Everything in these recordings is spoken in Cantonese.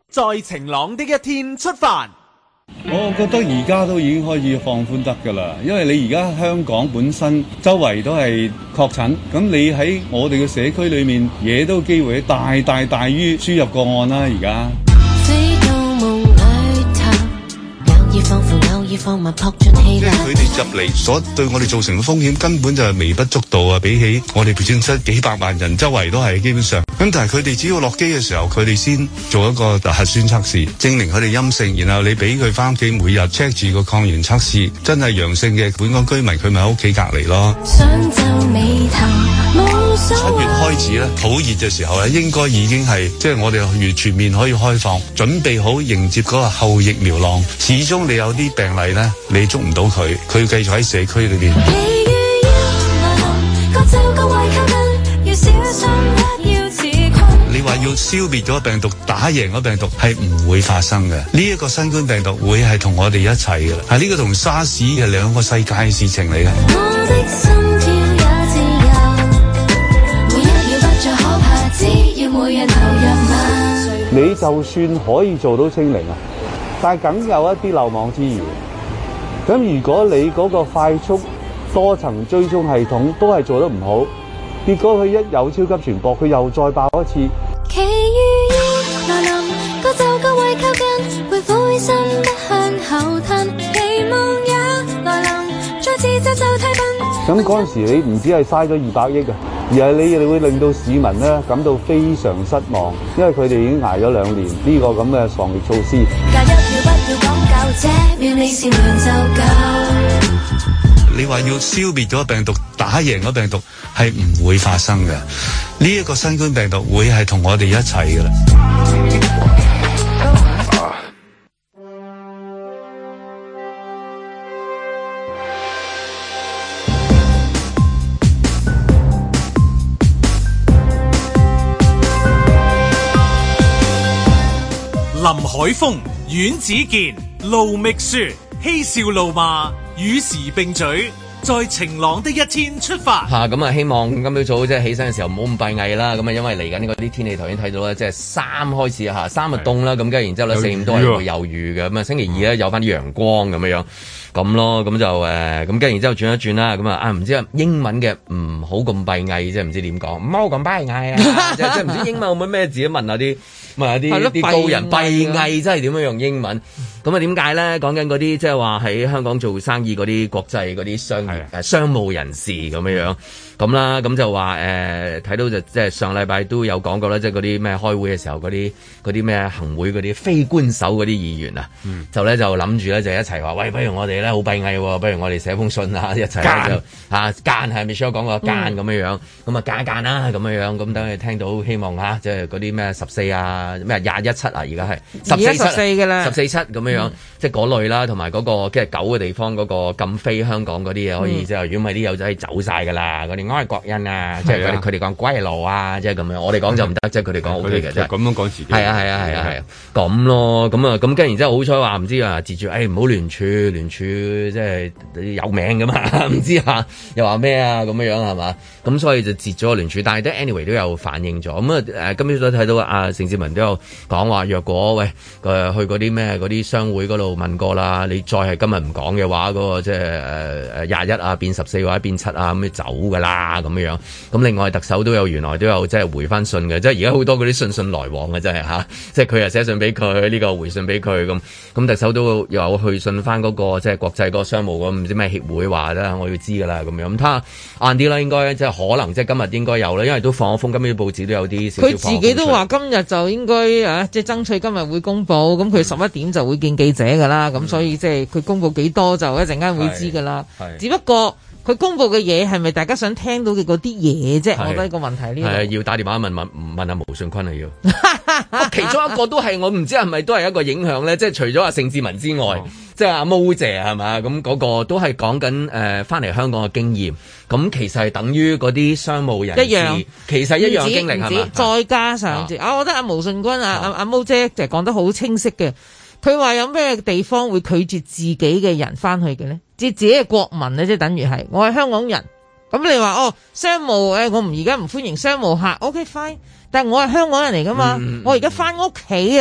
在晴朗的一天出發。 我覺得而家都已經開始放寬得㗎啦，因為你而家香港本身周圍都係確診，咁你喺我哋嘅社區裏面惹到機會大於輸入個案啦，而家。 即係佢哋入嚟所對我哋造成嘅風險根本就係微不足道啊！比起我哋本身幾百萬人周圍都係基本上，咁但係佢哋只要落機嘅時候，佢哋先做一個核酸測試，證明佢哋陰性，然後你俾佢翻屋企每日 check 住個抗原測試，真係陽性嘅本港居民，佢咪喺屋企隔離咯。7月開始咧，好熱嘅時候咧，應該已經係即係我哋完全面可以開放，準備好迎接嗰個後疫苗浪。始終你有啲病例咧，你捉唔到佢繼續喺社區裏邊。你話要消滅咗病毒，打贏咗病毒係唔會發生嘅。呢一個新冠病毒會係同我哋一齊嘅啦，係呢個同沙士係兩個世界嘅事情嚟嘅。 你就算可以做到清零啊，但係梗有一啲漏網之魚。咁如果你嗰個快速多層追蹤系統都係做得唔好，結果佢一有超級傳播，佢又再爆一次。咁嗰陣時你唔止係嘥咗200億啊，而係你哋會令到市民咧感到非常失望，因為佢哋已經捱咗2年呢個咁嘅防疫措施。 你話要消滅咗病毒，打贏咗病毒係唔會發生嘅。呢一個新冠病毒會係同我哋一齊嘅啦。 林海峰、阮子健、盧覓雪，嬉笑怒罵，與時並舉，在晴朗的一天出發。 咁啊，希望今朝早即係起身嘅時候唔好咁閉翳啦。咁啊，因為嚟緊嗰啲天氣頭先睇到咧，即係3開始3就凍啦。咁跟住然之後咧4、5都係會有雨嘅。咁啊，星期2咧有翻啲陽光咁樣咁咯。咁就咁跟住然之後轉一轉啦。咁啊唔知英文嘅唔好咁閉翳，即係唔知點講，唔好咁閉翳啊！即係唔知英文有冇咩字？問下啲高人閉翳真係點樣用英文？咁啊點解咧？講緊嗰啲即係話喺香港做生意嗰啲國際嗰啲商務人士咁樣咁啦，咁就話睇到就即係上禮拜都有講過啦，即係嗰啲咩開會嘅時候嗰啲咩行會嗰啲非官守嗰啲議員啊，就諗住咧就一齊話喂，不如我哋咧好閉翳喎，不如我哋寫封信啊，一齊就間係 Michelle 講過間咁樣咁啊間啦咁樣咁等佢聽到希望即係嗰啲咩14啊咩21.7啊，而家係14嘅啦14.7咁樣即係嗰類啦，同埋嗰個即係9嘅地方嗰個禁飛香港嗰啲嘢可以即係如果唔係啲友仔走晒㗎啦，嗰啲外國人啊，即係佢哋講歸路啊，即係咁樣。我哋講就唔得，即係佢哋講 O K 嘅，即係咁樣講自己。係啊，咁咯，咁跟然之後好彩話唔知截住，唔好聯署即係有名㗎嘛，唔知又話咩啊咁樣係嘛？咁所以就截咗個聯署，但係都 anyway 都有反應咗。咁今朝都睇到盛智文都有講話，若果去嗰啲咩嗰啲商會嗰度問過啦，你再係今日唔講嘅話，嗰個即係21啊變14或者變7啊咁你走㗎啦咁樣。咁另外特首原來都有即係回翻信嘅，即係而家好多嗰啲信來往嘅真係即係佢又寫信俾佢，呢個回信俾佢咁特首都有去信翻嗰個即係國際嗰個商務嗰唔知咩協會話咧，我要知㗎啦咁樣。咁睇下晏啲啦，應該即係可能即係今日應該有啦，因為都放咗風，今日啲報紙都有啲少少。佢自己都話今日就應該即係爭取今日會公佈，咁佢11點就會見記者㗎啦，咁所以即係佢公佈幾多就一陣間會知㗎啦。只不過佢公佈嘅嘢係咪大家想聽到嘅嗰啲嘢啫？我覺得個問題呢個係要打電話問下毛舜筠係要。其中一個都係我唔知係咪都係一個影響咧，即係除咗阿盛智文之外，即係阿毛姐係嘛？咁嗰個都係講緊翻嚟香港嘅經驗。咁其實係等於嗰啲商務人士一樣，其實一樣經歷係嘛？再加上我覺得阿毛舜筠阿毛姐就講得好清晰嘅。佢話有咩地方會拒絕自己嘅人翻去嘅咧？即係自己嘅國民咧，即係等於係我係香港人。咁你話商務我而家唔歡迎商務客 ，OK fine。但係我係香港人嚟噶嘛，我而家翻屋企啊，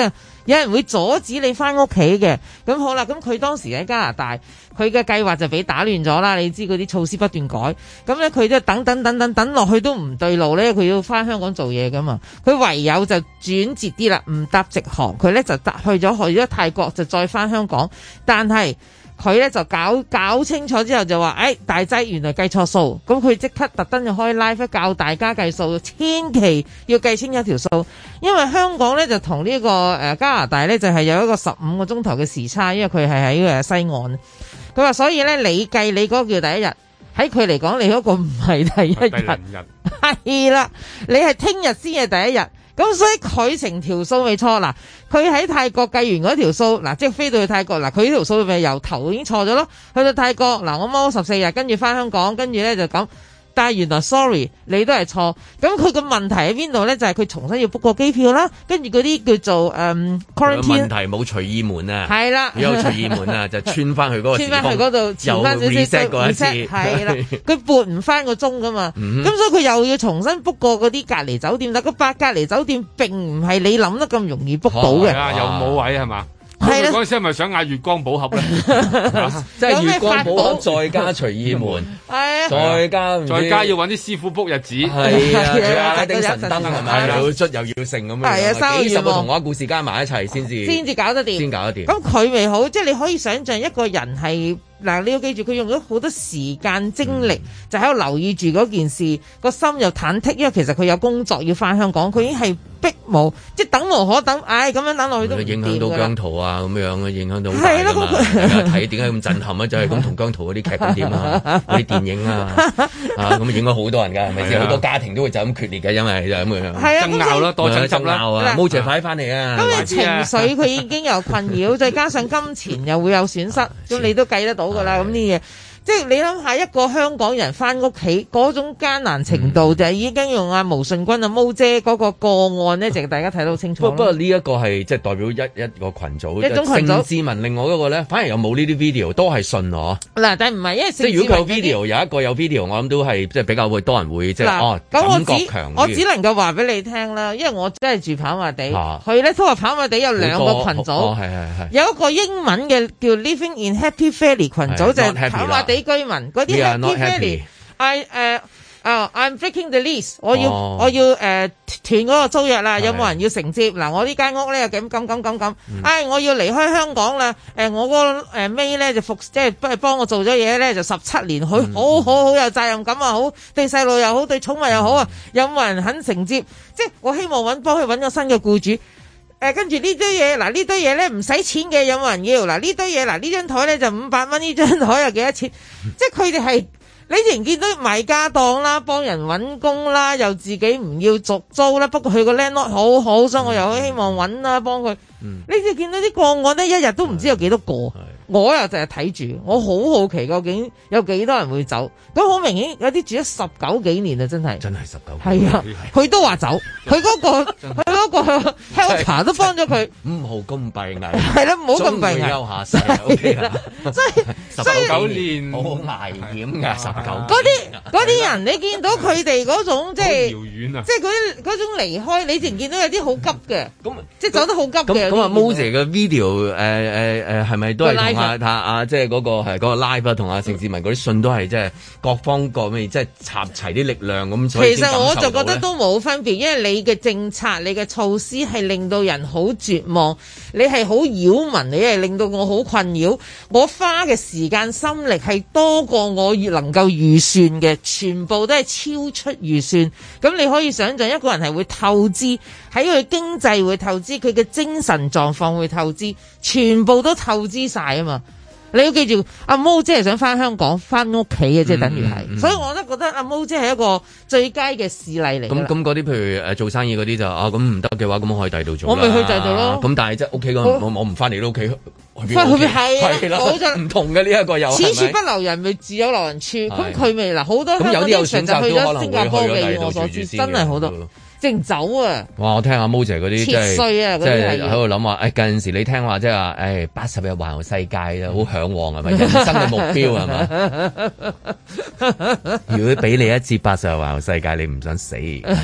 有人會阻止你翻屋企嘅。咁好啦，咁佢當時喺加拿大，佢嘅計劃就俾打亂咗啦。你知嗰啲措施不斷改，咁咧佢都等落去都唔對路咧，佢要翻香港做嘢噶嘛。佢唯有就轉捷啲啦，唔搭直航，佢咧就去咗泰國，就再翻香港。但係佢咧就搞清楚之後就話，大劑原來計錯數，咁佢即刻特登就開 live 教大家計數，千祈要計清一條數，因為香港咧就同呢個加拿大咧就係有一個15個鐘頭嘅時差，因為佢係喺西岸。佢話所以咧你計你嗰個叫第一日，喺佢嚟講你嗰個唔係第一日，係啦，你係聽日先係第一日。咁所以佢成條數未錯嗱，佢喺泰國計完嗰條數嗱，即係飛到去泰國嗱，佢呢條數咪由頭已經錯咗咯。去到泰國嗱，我踎14日，跟住翻香港，跟住咧就咁。但係原來 sorry 你都係錯，咁佢個問題喺邊度咧？就係佢重新要 book 個機票啦，跟住嗰啲叫做quarantine 問題冇隨意門啊， 係啦， 有隨意門啊，就穿翻去嗰個地方， 穿翻去嗰度，前翻少少 reset 過一次， 係啦，佢撥唔翻個鐘噶嘛，咁所以佢又要重新 book 過嗰啲隔離酒店，但個隔離酒店並唔係你諗得咁容易 book 到嘅， 又冇位係嘛？ 係啦， 嗰陣時係咪想嗌月光寶盒咧？ 即係月光寶盒再加隨意門，再加要揾啲師傅 book 日子， 係啊，仲有阿拉丁神燈係咪？又要出又要剩咁樣， 係啊， 幾十個童話故事加埋一齊先至搞得掂， 先搞得掂。 咁佢咪好？即係你可以想象一個人係嗱，你要記住佢用咗好多時間精力，就喺度留意住嗰件事，個心又忐忑，因為其實佢有工作要翻香港，佢已經係逼無，即係等無可等，咁樣等落去都唔掂㗎啦。影響到姜濤啊，咁樣影響到好大㗎嘛。睇點解咁震撼啊？就係咁同姜濤嗰啲劇咁點啊，嗰啲電影啊，咁影咗好多人㗎，係咪先？好多家庭都會就咁決裂嘅，因為就咁樣。係啊，爭拗啦，多爭執啦。冇謝快翻嚟啊！ 咁你情緒佢已經有困擾，再加上金錢又會有損失，咁你都計得到㗎啦。咁啲嘢。即係你諗下一個香港人翻屋企嗰種艱難程度，就係已經用阿毛舜筠毛姐嗰個個案咧，就大家睇到清楚。不過呢一個係即係代表一個群組，一種群組。盛智文另外一個咧，反而又冇呢啲 video，都係信我。嗱，但係唔係，因為即係如果佢有 video，有一個有 video，我諗都係即係比較會多人會即係感覺強。 我只能夠話俾你聽啦，因為我真係住跑馬地，佢咧都話跑馬地有兩個群組，有一個英文嘅叫 Living in Happy Valley 群組，就係跑馬地居民嗰啲 Happy Valley，I'm breaking the lease， 我要斷嗰個租約啦，有冇人要承接？嗱，我呢間屋咧又咁，我要離開香港啦，我個May咧就即係幫我做咗嘢咧就17年，佢好有責任感啊，好對細路又好，對寵物又好啊，有冇人肯承接？即係我希望幫佢揾個新嘅僱主。跟住呢堆嘢，嗱呢堆嘢咧唔使錢嘅，有冇人要？嗱呢堆嘢，嗱呢張台咧就500蚊，呢張台又幾多錢？即係佢哋係你仍然見到賣家當啦，幫人揾工啦，又自己唔要續租啦。不過佢個 landlord 好好，所以我又好希望揾啦幫佢。你就見到啲個案咧，一日都唔知有幾多個。我又就係睇住，我好好奇究竟有幾多人會走。咁好明顯有啲住咗19幾年啊，真係 19。 係啊，佢都話走，佢嗰個 helper 都幫咗佢。 唔好咁閉翳。 係啦，唔好咁閉翳。 休下世 OK 啦。 所以 19年好危險㗎，19。 嗰啲人，你見到佢哋嗰種即係遙遠啊， 即係嗰種離開，你淨見到有啲好急嘅，即係走得好急嘅。 咁啊，Mose 嘅 video 係咪都係同即係嗰個係嗰個 live 同阿盛智文嗰啲信都係即係各方各面即係插齊啲力量咁。 其實我就覺得都冇分別，因為你嘅政策、你嘅措施係令到人好絕望，你係好擾民，你係令到我好困擾。我花嘅時間心力係多過我能夠預算嘅，全部都係超出預算。咁你可以想象一個人係會透支，喺佢經濟會透支，佢嘅精神狀況會透支，全部都透支晒啊嘛！你要記住，阿毛姐係想翻香港翻屋企嘅，即係等於係，所以我都覺得阿毛姐係一個最佳嘅事例嚟。 咁嗰啲譬如做生意嗰啲就咁唔得嘅話，咁我可以第度做。 我咪去第度咯。咁但係即係屋企我唔翻嚟都屋企去邊？ 係啦， 唔同嘅呢一個有。 此處不留人，咪自有留人處。咁佢咪嗱好多香港啲人就去咗新加坡嘅，我所知真係好多。 正走啊！ 哇！我聽阿毛姐嗰啲切碎啊， 即係喺度諗話，近陣時你聽話即係話，80日環遊世界啊，好嚮往係咪？人生嘅目標係咪？如果俾你一次80日環遊世界，你唔想死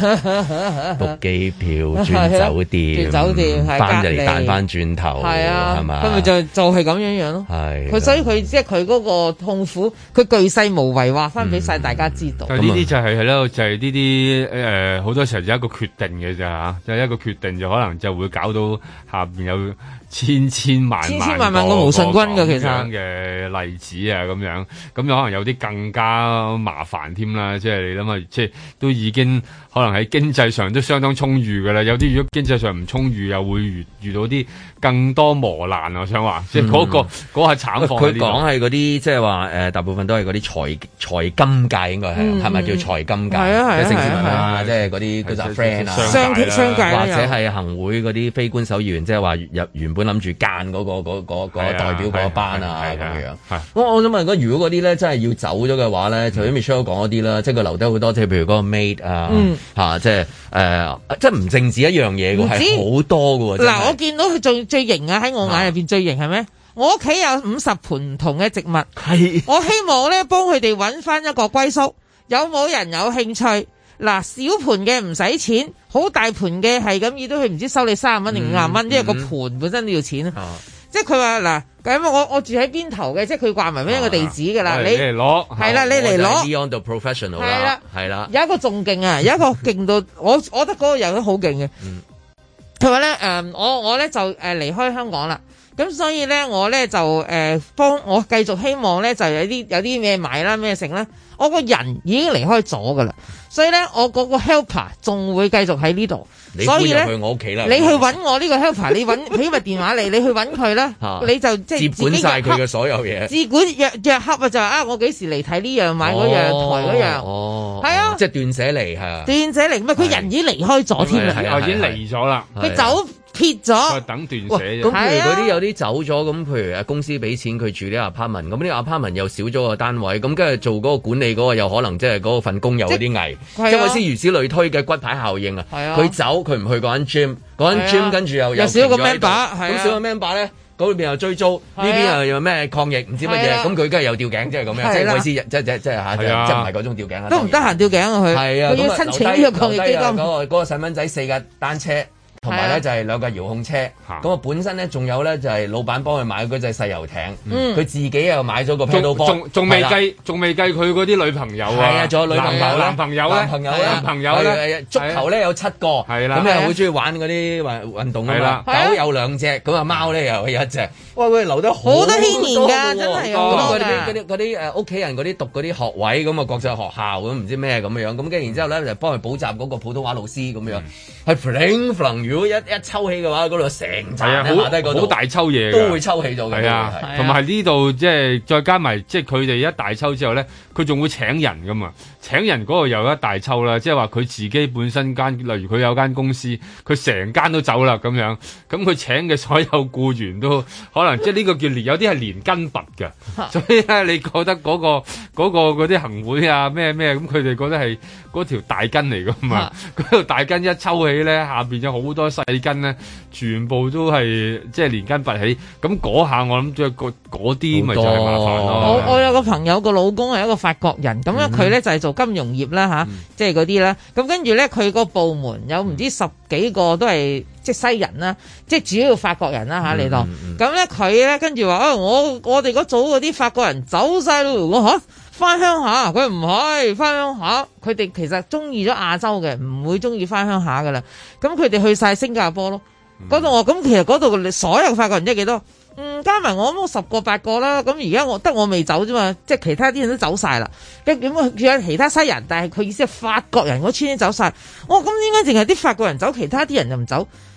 ？book 機票、轉酒店、翻嚟彈翻轉頭，係啊，係嘛？ 咁咪就係咁樣咯。係佢，所以佢即係佢嗰個痛苦，佢巨細無遺話翻俾晒大家知道。 呢啲就係咯，就係呢啲好多時候就一個決定嘅咋嚇，就一個決定就可能就會搞到下邊有千萬個無信軍嘅其實嘅例子啊，咁樣咁有可能有啲更加麻煩添啦，即係你諗下，即係都已經可能喺經濟上都相當充裕噶啦，有啲如果經濟上唔充裕，又會遇到啲更多磨難。我想話，即係嗰個慘況。佢講係嗰啲即係話大部分都係嗰啲財金界，應該係咪叫財金界？係啊，盛事文啊，即係嗰啲嗰陣 friend 啊， 商界或者係行會嗰啲非官守議員，即係話原本諗住間嗰個代表嗰班啊咁樣。我想問，如果嗰啲咧真係要走咗嘅話咧，頭先 Michelle 講嗰啲啦，即係佢留低好多，即係譬如嗰個 maid 啊，即係即係唔淨止一樣嘢嘅，係好多嘅。 嗱，我見到佢最型啊，喺我眼入邊最型係咩？我屋企有50盆唔同嘅植物，係我希望咧幫佢哋揾翻一個歸宿。有冇人有興趣？嗱，小盆嘅唔使錢，好大盆嘅係咁，亦都佢唔知收你30蚊定50蚊，因為個盆本身都要錢啊。即係佢話嗱，咁我住喺邊頭嘅，即係佢掛埋俾一個地址噶啦，你嚟攞係啦，你嚟攞。 Beyond the professional 啦， 係啦， 有一個仲勁啊，有一個勁到我覺得嗰個人都好勁嘅。佢話咧我咧就離開香港啦。咁所以咧，我咧就幫我繼續希望咧，就有啲咩買啦，咩剩啦。我個人已經離開咗噶啦，所以咧，我嗰個 helper 仲會繼續喺呢度。所以咧， 去我屋企啦。 你去揾我呢個 helper，你揾俾個電話你去揾佢啦。你就即係接管晒佢嘅所有嘢。自管約洽啊，就話我幾時嚟睇呢樣買嗰樣台嗰樣。係啊， 即係斷捨離係。 斷捨離，唔係佢人已經離開咗添啦。 已經離咗啦。 佢走。撇咗， 等斷捨啫。 咁譬如嗰啲有啲走咗，咁譬如公司俾錢佢住啲 apartment，咁呢 apartment 又少咗個單位，咁跟住做嗰個管理嗰個又可能即係嗰份工有啲危，即係先如此類推嘅骨牌效應啊。佢走佢唔去嗰間 gym，嗰間 gym 跟住又少個 member，咁少個 member 咧，嗰邊又追租，呢邊又有咩抗疫唔知乜嘢，咁佢梗係有吊頸，即係咁樣，即係我意思，即係嚇，即係唔係嗰種吊頸啊？ 都唔得閒吊頸啊佢，佢要申請呢個抗疫基金。 嗰個細蚊仔4架單車。同埋咧就係2架遙控車，咁啊本身咧仲有咧就係老闆幫佢買嗰隻細遊艇，佢自己又買咗個 paddle board，仲未計佢嗰啲女朋友啊，係啊，仲有女朋友男朋友咧，足球咧有7個，係啦，咁又好中意玩嗰啲運動啊嘛，狗有2隻，咁啊貓咧又有1隻，哇佢留得好多牽連㗎，真係嗰啲屋企人嗰啲讀嗰啲學位咁啊國際學校咁唔知咩咁樣，咁跟住然之後咧就幫佢補習嗰個普通話老師咁樣，係如果一抽起嘅話，嗰度成扎好大抽嘢，都會抽起咗嘅。係啊， 同埋呢度即係再加埋，即係佢哋一大抽之後咧，佢仲會請人噶嘛？請人嗰個又一大抽啦，即係話佢自己本身間，例如佢有間公司，佢成間都走啦咁樣，咁佢請嘅所有僱員都可能即係呢個叫有啲係連根拔㗎，所以咧你覺得嗰啲行會啊咩咁，佢哋覺得係嗰條大根嚟噶嘛？嗰條大根一抽起咧，下邊有好多細根咧，全部都係即係連根拔起，咁嗰下我諗即係嗰啲咪就係麻煩咯。 我有個朋友個老公係一個法國人，咁樣佢咧就係做金融業啦吓，即係嗰啲啦。咁跟住咧佢個部門有唔知10幾個都係即係西人啦，即係主要法國人啦吓嚟到。咁咧佢咧跟住話我哋嗰組嗰啲法國人走晒咯，我吓翻鄉下，佢唔係翻鄉下，佢哋其實中意咗亞洲嘅，唔會中意翻鄉下噶啦。咁佢哋去晒新加坡咯，嗰度咁其實嗰度所有法國人即係幾多？加埋我諗10個8個啦。咁而家得我未走啫嘛，即係其他啲人都走晒啦。咁有其他西人，但係佢意思係法國人嗰村都走晒。咁點解淨係啲法國人走，其他啲人就唔走？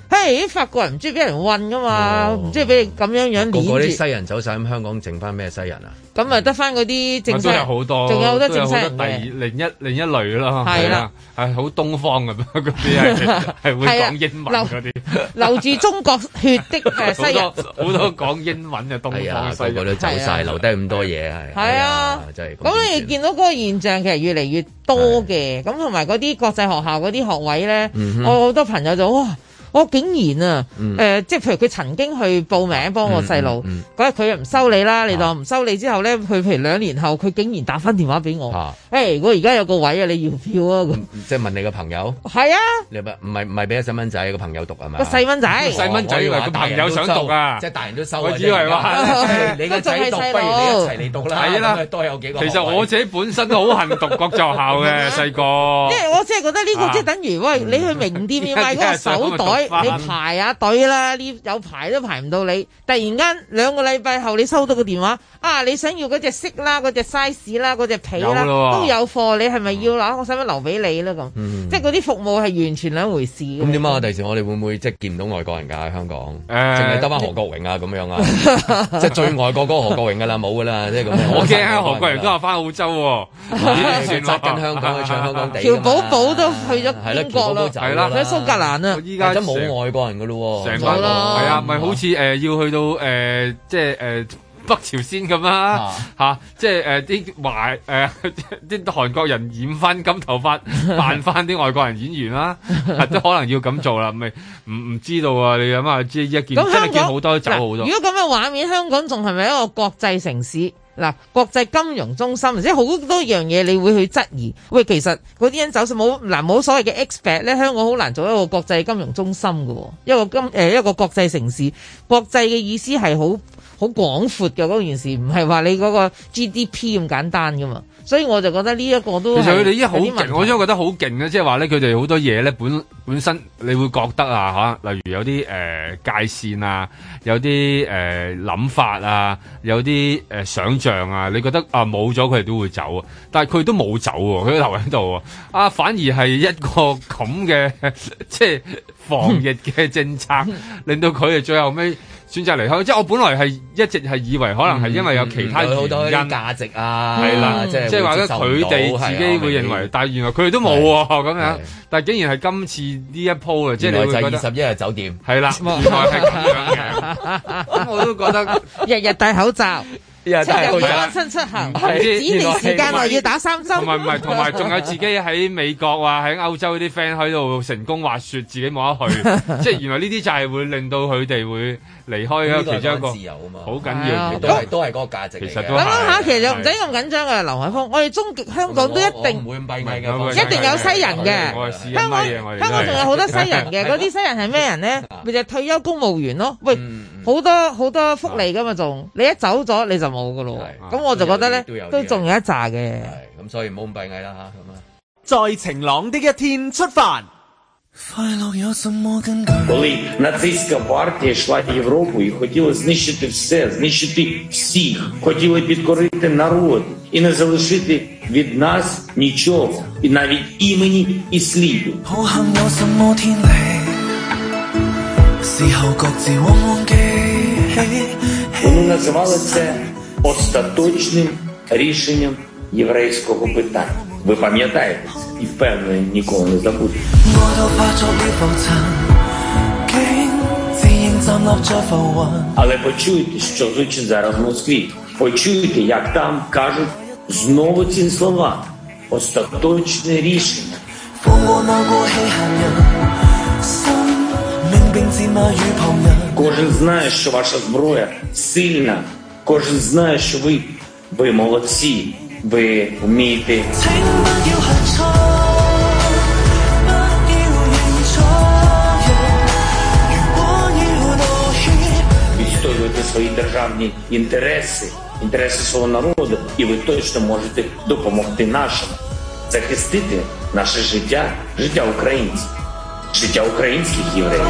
嘿，法國人唔中意俾人韞噶嘛，唔中意俾你咁樣攆住。 嗰啲西人走晒，咁香港剩翻咩西人啊？ 咁咪得翻嗰啲正西， 都有好多， 仲有好多正西人嘅。另一類咯， 係啦， 係好東方咁嗰啲係會講英文嗰啲， 流住中國血的西人， 好多講英文嘅東方西人， 個個都走晒，留低咁多嘢係啊，真係。 咁你見到嗰個現象其實越嚟越多嘅，咁同埋嗰啲國際學校嗰啲學位咧，我好多朋友就哇！我竟然啊，即係譬如佢曾經去報名幫我細路，嗰日佢又唔收你啦，你當唔收你之後咧，佢譬如2年後，佢竟然打翻電話俾我，我而家有個位啊，你要票啊？ 即係問你個朋友？係啊，你唔係俾個細蚊仔個朋友讀係嘛？ 個細蚊仔以為個朋友想讀啊， 即係大人都收。 我以為話你個仔讀，不如你一齊嚟讀啦。係啦，多有幾個。 其實我自己本身都好恨讀國際學校嘅細個， 因為我真係覺得呢個即係等於喂，你去名店要買嗰個手袋。你排下隊啦，呢有排都排唔到你。突然間2個禮拜後，你收到個電話，你想要嗰隻色啦、嗰隻 size 啦、嗰隻皮啦，都有貨。你係咪要啦？我使唔使留俾你咧？咁，即係嗰啲服務係完全兩回事。 咁點啊？第時我哋會唔會即係見唔到外國人㗎喺香港？淨係得翻何國榮啊咁樣啊？即係最外國嗰個何國榮㗎啦，冇㗎啦，即係咁。 我驚啊！何國榮都話翻澳洲喎， 算啦，跟香港去唱香港地。 喬寶寶都去咗英國咯， 係啦， 去蘇格蘭啊！ 依家真冇外國人㗎咯喎， 成班係啊，咪好似要去到即係北朝鮮咁啦嚇，即係啲啲韓國人染翻金頭髮，扮翻啲外國人演員啦，都可能要咁做啦，咪唔知道啊？你諗下，即係一件真係見好多都走好多。 如果咁嘅畫面，香港仲係咪一個國際城市？嗱，國際金融中心，即係好多樣嘢，你會去質疑。喂，其實嗰啲人走冇所謂嘅 expat 咧，香港好難做一個國際金融中心嘅，一個國際城市。國際嘅意思係好廣闊嘅嗰件事，唔係話你嗰個 GDP 咁簡單噶嘛。所以我就覺得呢一個都其實佢哋依家好勁，我都覺得好勁嘅，即係話咧，佢哋好多嘢咧本身你會覺得啊嚇，例如有啲界線啊，有啲諗法啊，有啲想像啊，你覺得啊冇咗佢哋都會走啊，但係佢都冇走喎，佢都留喺度啊，反而係一個咁嘅即係防疫嘅政策，令到佢哋最後尾選擇離開，即係我本來係一直係以為可能係因為有其他原因，好多價值啊，係啦，即係話咧佢哋自己會認為，但係原來佢哋都冇喎咁樣，但係竟然係今次呢一鋪啊，即係你會覺得21日酒店係啦，原來係咁樣嘅，咁我都覺得日日戴口罩。7日安心出行，指定時間內要打3針。 同埋仲有自己喺美國啊，喺歐洲啲 friend 喺度成功滑雪，自己冇得去，即係原來呢啲就係會令到佢哋會離開嘅其中一個自由啊嘛，好緊要，都係嗰個價值。其實都諗下，其實又唔使咁緊張嘅，劉海峰，我哋香港都一定唔會咁閉翳嘅， 一定有西人嘅。香港仲有好多西人嘅，嗰啲西人係咩人咧？咪就係退休公務員咯。喂，好多福利噶嘛，仲你一走咗你就冇噶咯。咁我就覺得咧，都仲有一紮嘅。 咁所以唔好咁閉翳啦嚇，咁啊。 在晴朗的一天出發。 Коли нацистська партія йшла Європу і хотіла знищити все, знищити всіх, хотіла підкорити народ і не залишити від нас нічого, і навіть імені і сліду. Вони називали це остаточним рішенням єврейського питання. Ви пам'ятаєте і впевнені ніколи не забудете. Але почуйте, що звучить зараз в Москві. Почуйте, як там кажуть знову ці слова. Остаточне рішення. Кожен знає, що ваша зброя сильна. Кожен знає, що ви молодці. Ви вмієте відстоювати свої державні інтереси, інтереси свого народу, і ви точно можете допомогти нашим захистити наше життя, життя українців, життя українських євреїв.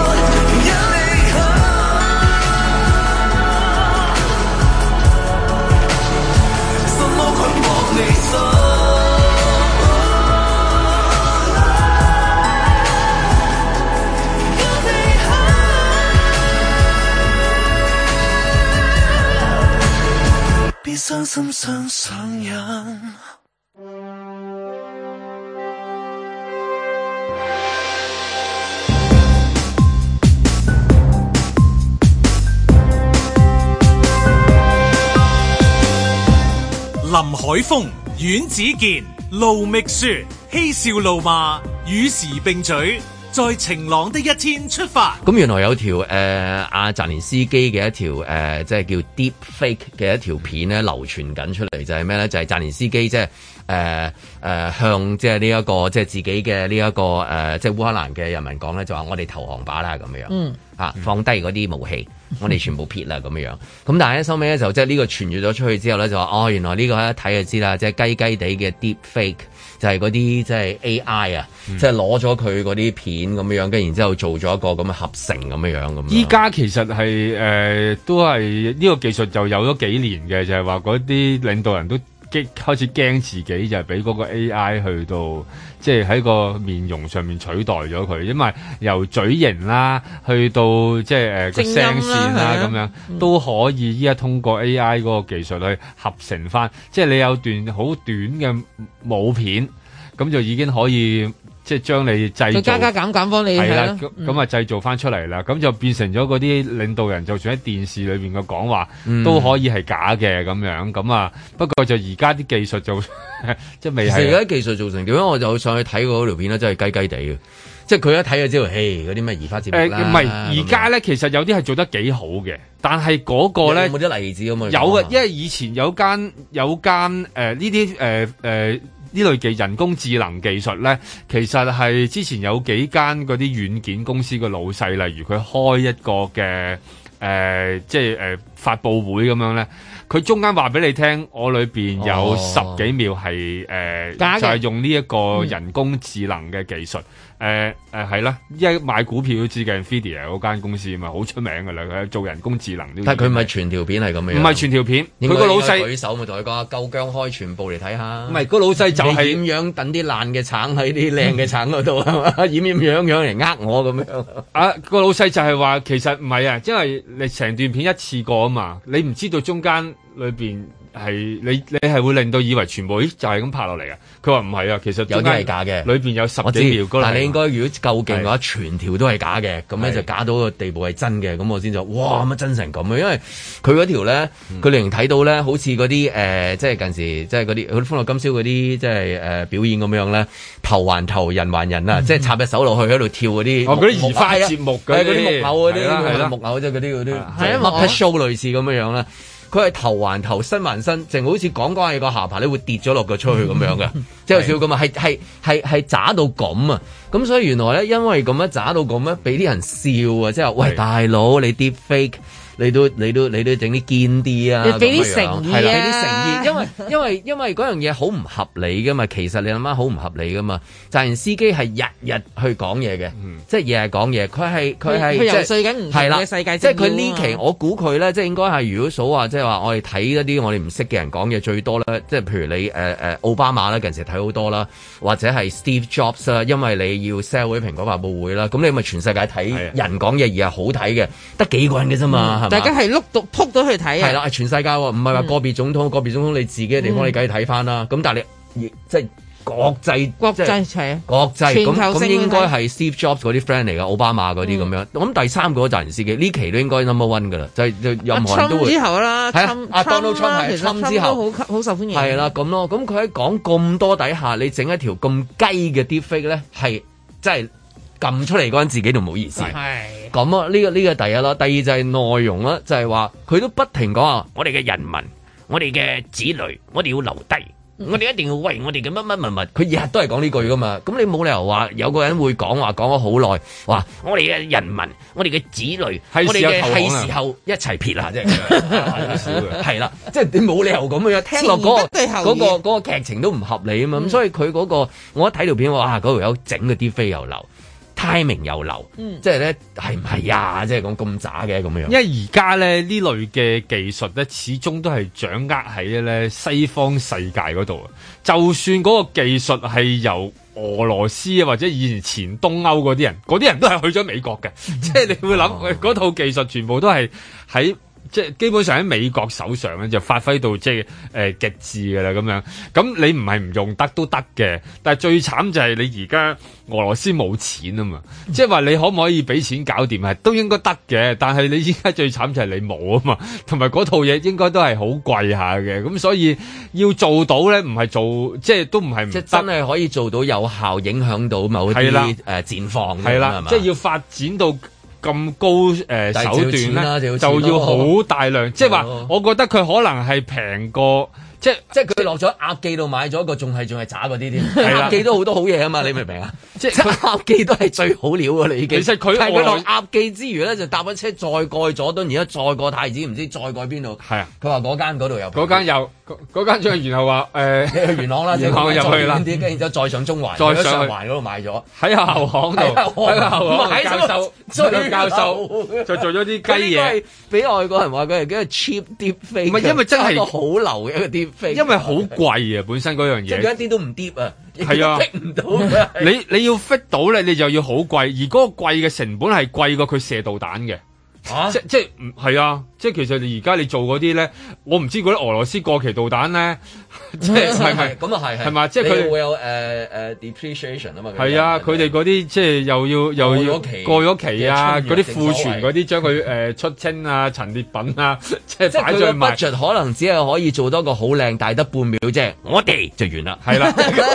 傷心想上癮。 林海峰、阮子健、盧覓雪，嬉笑怒罵，與時並舉，在晴朗的一天出發。 咁原來有條阿澤連斯基嘅一條即係叫 Deep Fake 嘅一條片咧流傳緊出嚟，就係咩咧？就係澤連斯基即係向即係呢一個即係自己嘅呢一個即係烏克蘭嘅人民講咧，就話我哋投降吧啦咁樣。放低嗰啲武器，我哋全部撇啦咁樣。咁但係咧收尾咧就即係呢個傳閱咗出去之後咧，就話原來呢個一睇就知啦，即係雞雞地嘅 Deep Fake 就係嗰啲即係 AI 啊，即係攞咗佢嗰啲片咁樣，跟然之後做咗一個咁嘅合成咁樣咁。 依家其實係都係呢個技術就有咗幾年嘅，就係話嗰啲領導人都開始驚自己就係俾嗰個 AI 去到即係喺個面容上面取代咗佢，因為由嘴型啦去到即係個聲線啦咁樣都可以依家通過 AI 嗰個技術去合成翻，即係你有段好短嘅舞片，咁就已經可以即係將你製造加減幫你係啦，咁啊製造翻出嚟啦，咁就變成咗嗰啲領導人，就算喺電視裏邊嘅講話都可以係假嘅咁樣，咁啊不過就而家啲技術就即係未係。 而家技術做成點樣？我就上去睇過嗰條片咧，真係雞雞地嘅，即係佢一睇就知道，嘿嗰啲咩移花接木啦。 唔係而家咧，其實有啲係做得幾好嘅，但係嗰個咧有冇啲例子咁啊？ 有嘅，因為以前有間呢啲呢類嘅人工智能技術咧，其實係之前有幾間嗰啲軟件公司嘅老細，例如佢開一個嘅即係發佈會咁樣咧，佢中間話俾你聽，我裏邊有10幾秒係就係用呢一個人工智能嘅技術。係啦，一買股票都知嘅 Nvidia 嗰間公司嘛，好出名噶啦，佢做人工智能。 但係佢唔係全條片係咁樣， 唔係全條片。佢個老細舉手咪同佢講，夠姜開全部嚟睇下。 唔係個老細就係點樣等啲爛嘅橙喺啲靚嘅橙嗰度係嘛？掩樣嚟呃我咁樣。 啊，個老細就係話其實唔係啊，因為你成段片一次過啊嘛，你唔知道中間裏邊。係你係會令到以為全部就係咁拍落嚟啊！佢話唔係啊，其實有啲係假嘅， 裏邊有10幾秒。 但係你應該如果夠勁嘅話，全條都係假嘅，咁咧就假到個地步係真嘅，咁我先就哇乜真成咁啊！因為佢嗰條咧，佢令人睇到咧，好似嗰啲即係近時即係嗰啲《歡樂今宵》嗰啲即係表演咁樣咧，頭還頭，人還人啊！即係插隻手落去喺度跳嗰啲嗰啲移花節目嗰啲木偶嗰啲木偶即係嗰啲Muppet Show 類似咁樣啦。佢係頭還頭，身還身，淨好似講講係個下巴咧會跌咗落個出去咁樣嘅，即係有少少咁啊，係渣到咁啊！咁所以原來咧，因為咁樣渣到咁咧，俾啲人笑啊！即係喂大佬，你 deep fake。你都整啲堅啲啊！ 你俾啲誠意啊！ 俾啲誠意，因為嗰樣嘢好唔合理噶嘛。其實你諗下好唔合理噶嘛。澤連斯基係日日去講嘢嘅，即係日日講嘢。佢係游説緊唔同嘅世界。 即係佢呢期，我估佢咧，即係應該係如果數話，即係話我哋睇一啲我哋唔識嘅人講嘢最多咧，即係譬如你奧巴馬啦，近時睇好多啦，或者係 Steve Jobs 啦，因為你要 sell 嗰啲蘋果發佈會啦，咁你咪全世界睇人講嘢而係好睇嘅，得幾個人嘅啫嘛。 大家係撲到去睇啊！ 係啦，係全世界喎，唔係話個別總統，個別總統你自己嘅地方你梗係睇翻啦。咁但係你即係國際係國際咁應該係 Steve Jobs 嗰啲 friend 嚟㗎，奧巴馬嗰啲咁樣。咁第三個澤連斯基呢期都應該 number one 㗎啦，就任何人都會。 之後啦， Donald Trump 係Trump之後好受歡迎。 係啦，咁咯，咁佢喺講咁多底下，你整一條咁雞嘅 deepfake 咧，係真係。撳出嚟嗰陣自己都唔好意思，係咁啊！呢個第一啦，第二就係內容啦，就係話佢都不停講啊，我哋嘅人民，我哋嘅子女，我哋要留低，我哋一定要為我哋嘅乜乜物物，佢日日都係講呢句噶嘛，咁你冇理由話有個人會講話講咗好耐，話我哋嘅人民，我哋嘅子女，我哋嘅係時候一齊撇啦，即係係啦，即係你冇理由咁樣聽落嗰個劇情都唔合理啊嘛，咁所以佢嗰個我一睇條片哇，嗰條友整嗰啲飛又流。timing 又流，即係咧係唔係呀？即係講咁渣嘅咁樣。因為而家咧呢類嘅技術咧，始終都係掌握喺咧西方世界嗰度啊。就算嗰個技術係由俄羅斯啊，或者以前東歐嗰啲人都係去咗美國嘅。即係你會諗嗰套技術全部都係喺即係基本上喺美國手上咧就發揮到即係極致㗎啦咁樣。咁你唔係唔用得都得嘅，但係最慘就係你而家俄羅斯冇錢啊嘛，即係話你可唔可以俾錢搞掂係都應該得嘅，但係你依家最慘就係你冇啊嘛，同埋嗰套嘢應該都係好貴下嘅，咁所以要做到咧唔係做即係都唔係唔得， 即係真係可以做到有效影響到某啲戰況係啦，即係要發展到咁高手段咧，就要好大量，即係話我覺得佢可能係平過。即係佢落咗鴨記度買咗個，仲係渣嗰啲添。鴨記都好多好嘢啊嘛，你明唔明啊？即係鴨記都係最好料㗎啦，已經。其實佢落鴨記之餘咧，就搭咗車再過去佐敦，而家再過太子，唔知再過去邊度。係啊，佢話嗰間嗰度有。嗰間有，嗰間再然後話去元朗啦，元朗入去啦，跟住之後再上中環，再上環嗰度買咗。喺後巷度，喺後巷教授就做咗啲雞嘢，俾外國人話佢係幾個 cheap deep fake。唔係因為真係個好流嘅一個 deep。因為好貴啊，本身嗰樣嘢，即係一啲都唔跌啊，係啊，逼唔到。你要 fit 到咧，你就要好貴，而嗰個貴嘅成本係貴過佢射導彈嘅。即係唔係啊？即係其實你而家你做嗰啲咧，我唔知嗰啲俄羅斯過期導彈咧，即係咁啊係嘛？即係佢會有depreciation 啊嘛。係啊，佢哋嗰啲即係又要過咗期啊，嗰啲庫存嗰啲將佢出清啊、陳列品啊，即係擺在賣。budget 可能只係可以做多個好靚，大得半秒啫，我哋就完啦。係啦。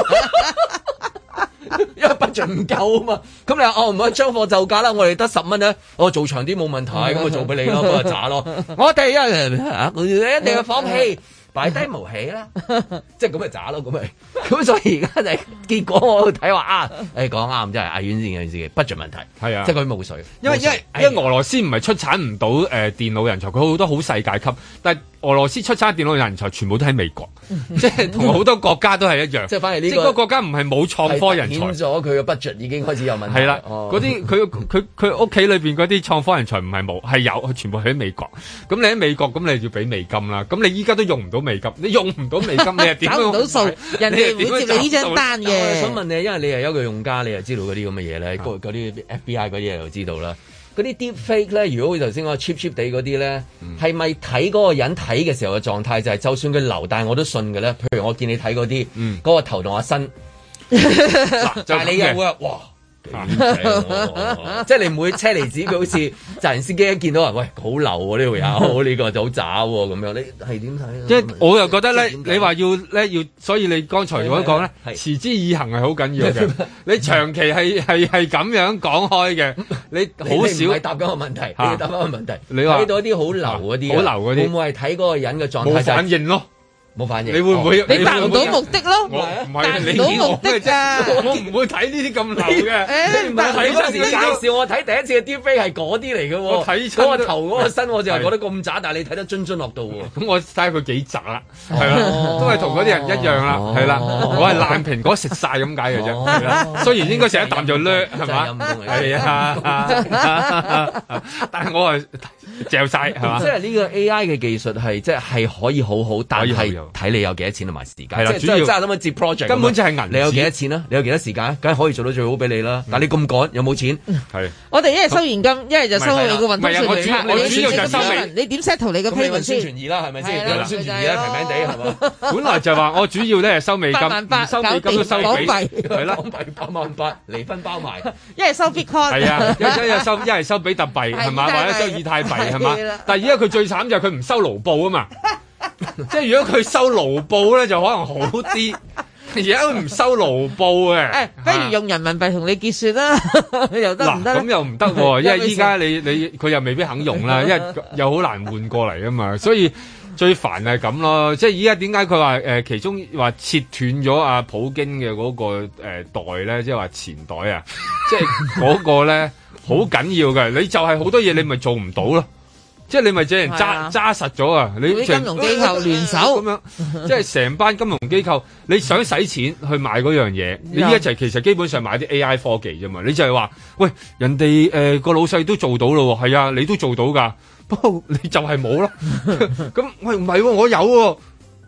因為 budget 唔夠啊嘛，咁你話唔可以將貨就價啦，我哋得10蚊咧，我做長啲冇問題，咁我做俾你咯，咁就渣咯。我哋一定要放棄，擺低無喜啦，即係咁咪渣咯，咁咪。咁所以而家就係結果，我睇話講啱，真係阿遠先嘅自己 budget 問題，係啊，即係佢冇水，因為俄羅斯唔係出產唔到電腦人才，佢好多好世界級，但係俄羅斯出產電腦人才全部都喺美國，即係同好多國家都係一樣，即係反而呢個國家唔係冇創科人才，顯咗佢嘅 budget 已經開始有問題。係啦，嗰啲佢屋企裏邊嗰啲創科人才唔係冇，係有，佢全部喺美國。咁你喺美國，咁你要俾美金啦。咁你依家都用唔到美金，你用唔到美金，你係點找唔到數？人哋會接你呢張單嘅。我想問你，因為你係一個用家，你又知道嗰啲咁嘅嘢咧，嗰啲 FBI 嗰啲嘢又知道啦。嗰啲 deep fake 咧，如果頭先我 cheap 地嗰啲咧，係咪睇嗰個人睇嘅時候嘅狀態就係，就算佢流，但係我都信嘅咧？譬如我見你睇嗰啲，嗰個頭同阿身，但係你又會話哇！即係你唔會車厘子，佢好似責任司機一見到人，喂，好流喎呢條友，呢個就好渣喎咁樣，你係點睇？即係我又覺得咧，你話要，所以你剛才所講咧，持之以恆係好緊要嘅。你長期係咁樣講開嘅，你好少係答緊個問題，你要答翻個問題。你話睇到啲好流嗰啲，好流嗰啲，會唔會係睇嗰個人嘅狀態？冇反應咯。冇反應，你會唔會？你達唔到目的咯？唔係你到目的㗎，我唔會睇呢啲咁流嘅。唔係睇嗰時介紹我睇第一次嘅 deepfake 係嗰啲嚟嘅喎。我睇嗰個頭嗰個身，我就係覺得咁渣，但係你睇得津津樂道喎。咁我睇下佢幾渣啦，係啦，都係同嗰啲人一樣啦，係啦。我係爛蘋果食晒咁解嘅啫，係啦。雖然應該食一啖就掠，係嘛？係啊，但係我係嚼晒係嘛？即係呢個 AI 嘅技術係即係可以好好，但係睇你有幾多錢同埋時間，係啦，主要真係諗緊接 project，根本就係銀。你有幾多錢啊？你有幾多時間？梗係可以做到最好俾你啦。但係你咁趕，有冇錢？係我哋一係收現金，一係就收你個運通訊。我主要就收你。你點 settle 你個 payment 先？宣傳易啦，係咪先？有宣傳易啦，平平地係嘛？本來就話我主要咧係收美金，唔收美金都收港幣，係啦，港幣88000，離婚包埋。一係收 Bitcoin，係啊，一係收比特幣係嘛，或者收以太幣係嘛。但係而家佢最慘就係佢唔收盧布啊嘛。即係如果佢收盧布咧，就可能好啲。而家佢唔收盧布嘅，不如用人民幣同你結算啦，又得唔得？咁又唔得喎，因為依家你佢又未必肯用啦，因為又好難換過嚟啊嘛，所以最煩係咁咯。即係依家點解佢話其中話切斷咗阿普京嘅嗰個袋咧，即係話錢袋啊，即係嗰個咧好緊要嘅。你就係好多嘢你咪做唔到咯。即係你咪借人揸實咗啊！你啲金融機構聯手咁樣，即係成班金融機構，你想使錢去買嗰樣嘢，你一齊其實基本上買啲 AI 科技啫嘛。你就係話，喂，人哋個老細都做到咯，係啊，你都做到㗎，不過你就係冇咯。咁喂唔係喎，我有喎。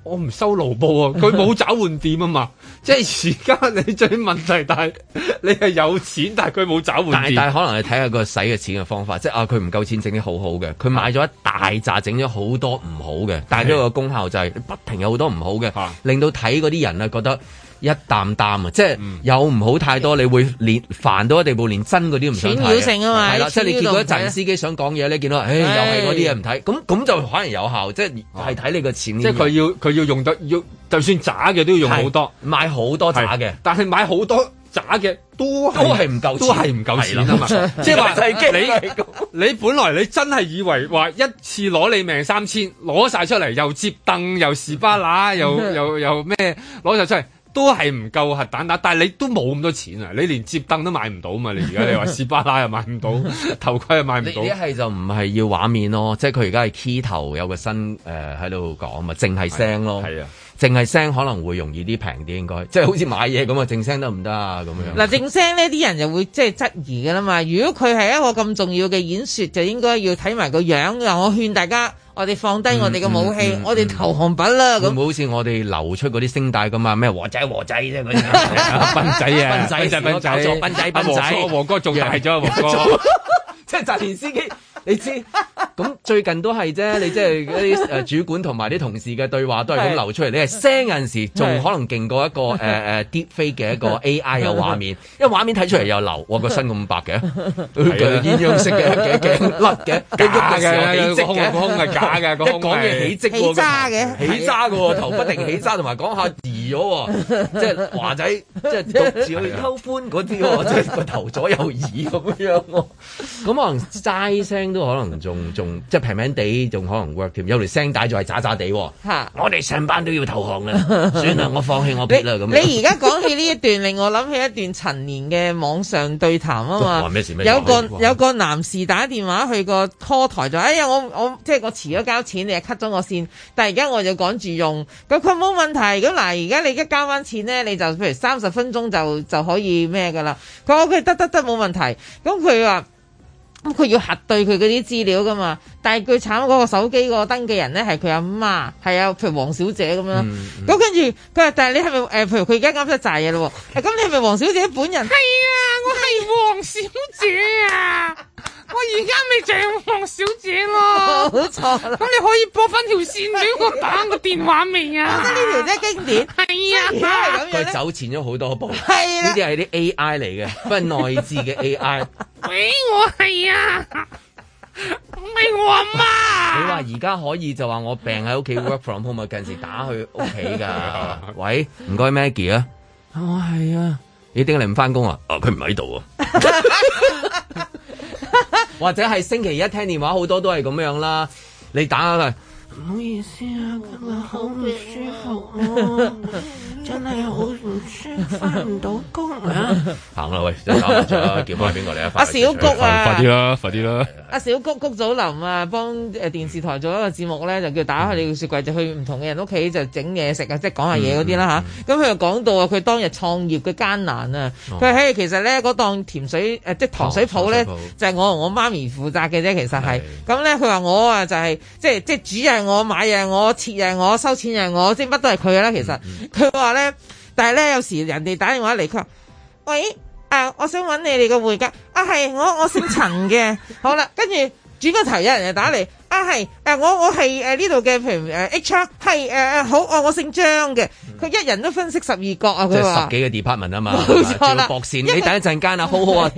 我唔收勞保啊，佢冇找換店啊嘛，即係而家你最問題，但係你係有錢，但係佢冇找換店。 但係可能你睇下個使嘅錢嘅方法，即係佢唔夠錢整啲好好嘅，佢買咗一大紮整咗好多唔好嘅，但係呢個功效就係不停有好多唔好嘅，令到睇嗰啲人啊覺得一擔擔啊，即係有唔好太多，你會連煩到一地步，連真嗰啲唔想睇。擾性啊嘛，係啦，即係你見到一陣司機想講嘢咧，見到又係嗰啲嘢唔睇，咁就可能有效，即係睇你個錢。 即係佢要用得要，就算渣嘅都要用好多， 買好多渣嘅， 但係買好多渣嘅都係唔夠錢，都係唔夠錢啊嘛！即係話你本來你真係以為話一次攞你命3000，攞晒出嚟又接凳又士巴拿又咩攞晒出嚟。都係唔夠核彈打，但係你都冇咁多錢啊！你連接凳都買唔到嘛？你而家你話士巴拿又買唔到，頭盔又買唔到。 你一係就唔係要畫面咯，即係佢而家係 key 頭有個新喺度講嘛，淨係聲咯。係啊，淨係聲可能會容易啲平啲，應該即係好似買嘢咁啊，淨聲得唔得啊？咁樣嗱，淨聲呢啲人就會即係質疑㗎啦嘛。如果佢係一個咁重要嘅演說，就應該要睇埋個樣㗎。我勸大家。我哋放低我哋嘅武器，我哋投降品啦。咁好似我哋流出嗰啲聲帶咁啊？咩和仔啫嗰啲，斌仔啊，斌仔， 黃哥仲大咗，黃哥即係澤連司機。你知咁最近都係啫，你即係嗰啲主管同埋啲同事嘅對話都係咁流出嚟。你係聲有陣時仲可能勁過一個deepfake 嘅一個 AI 有畫面，因為畫面睇出嚟又流，哇個身咁白嘅，鴛鴦式嘅頸甩嘅， 假嘅，個胸係假嘅， 一講嘢起積起渣嘅， 起渣嘅頭不定起渣，同埋講下移咗喎，即係華仔即係獨自去偷歡嗰啲喎，即係個頭左右移咁樣喎，咁可能齋聲。都可能仲即係平平地，仲可能 work 添。有條聲帶仲係渣渣地。嚇！我哋上班都要投降啦，算啦，我放棄我撇啦咁。 你而家講起呢一段，令我諗起一段陳年嘅網上對談啊嘛。有個男士打電話去個 call 台就，哎呀，我即係我遲咗交錢，你又 cut 咗我線，但係而家我就趕住用。咁佢冇問題。咁嗱，而家你而家交翻錢咧，你就譬如30分鐘就可以咩㗎啦。佢話佢得冇問題。咁佢話。咁佢要核對佢嗰啲資料噶嘛，但係佢慘嗰個手機個登記人咧係佢阿媽，係啊，譬如黃小姐咁樣。咁跟住佢話，但係你係咪譬如佢而家啱咗債嘢咯？咁你係咪黃小姐本人？係啊，我係黃小姐啊！我而家咪就係黃小姐咯。冇錯啦。咁你可以撥翻條線俾我打個電話未啊？我覺得呢條真係經典。係啊， 佢走前咗好多步。 係啊， 呢啲係啲 AI 嚟嘅，不過內置嘅 AI。 喂，我係啊，唔係我阿媽。 你話而家可以就話我病喺屋企 work from home 啊，近時打去屋企噶。喂，唔該 Maggie 啊，我係啊，你點解你唔翻工啊？佢唔喺度啊。或者係星期一聽電話好多都係咁樣啦，你打下佢。唔好意思啊，今日好唔舒服啊，真係好唔舒服，翻唔到工啊！行啦，喂，真係搞唔出啦，叫翻邊個嚟啊？ 阿小谷啊， 快啲啦，快啲啦！ 阿小谷谷祖琳啊，幫電視台做一個節目咧，就叫打開你個雪櫃，就去唔同嘅人屋企就整嘢食啊，即係講下嘢嗰啲啦嚇。咁佢又講到啊，佢當日創業嘅艱難啊，佢話嘿，其實咧嗰檔甜水即係糖水鋪咧，就係我同我媽咪負責嘅啫，其實係。咁咧佢話我啊就係即係煮嘢我買嘢我切嘢我收錢嘢我，即係乜都係佢啦。其實佢話咧，但係咧有時人哋打電話嚟，佢話喂。我想揾你哋個會計係我姓陳嘅，好啦，跟住轉個頭有人就打嚟，係我係呢度嘅，譬如HR 係好我姓張嘅，佢一人都分析12角啊，佢話即係10幾個 department 啊嘛， 冇錯啦， 駁線，你等一陣間啊，好好啊，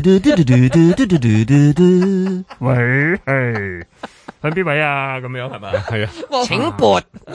喂，係向邊位啊？咁樣係咪？係啊， 請撥一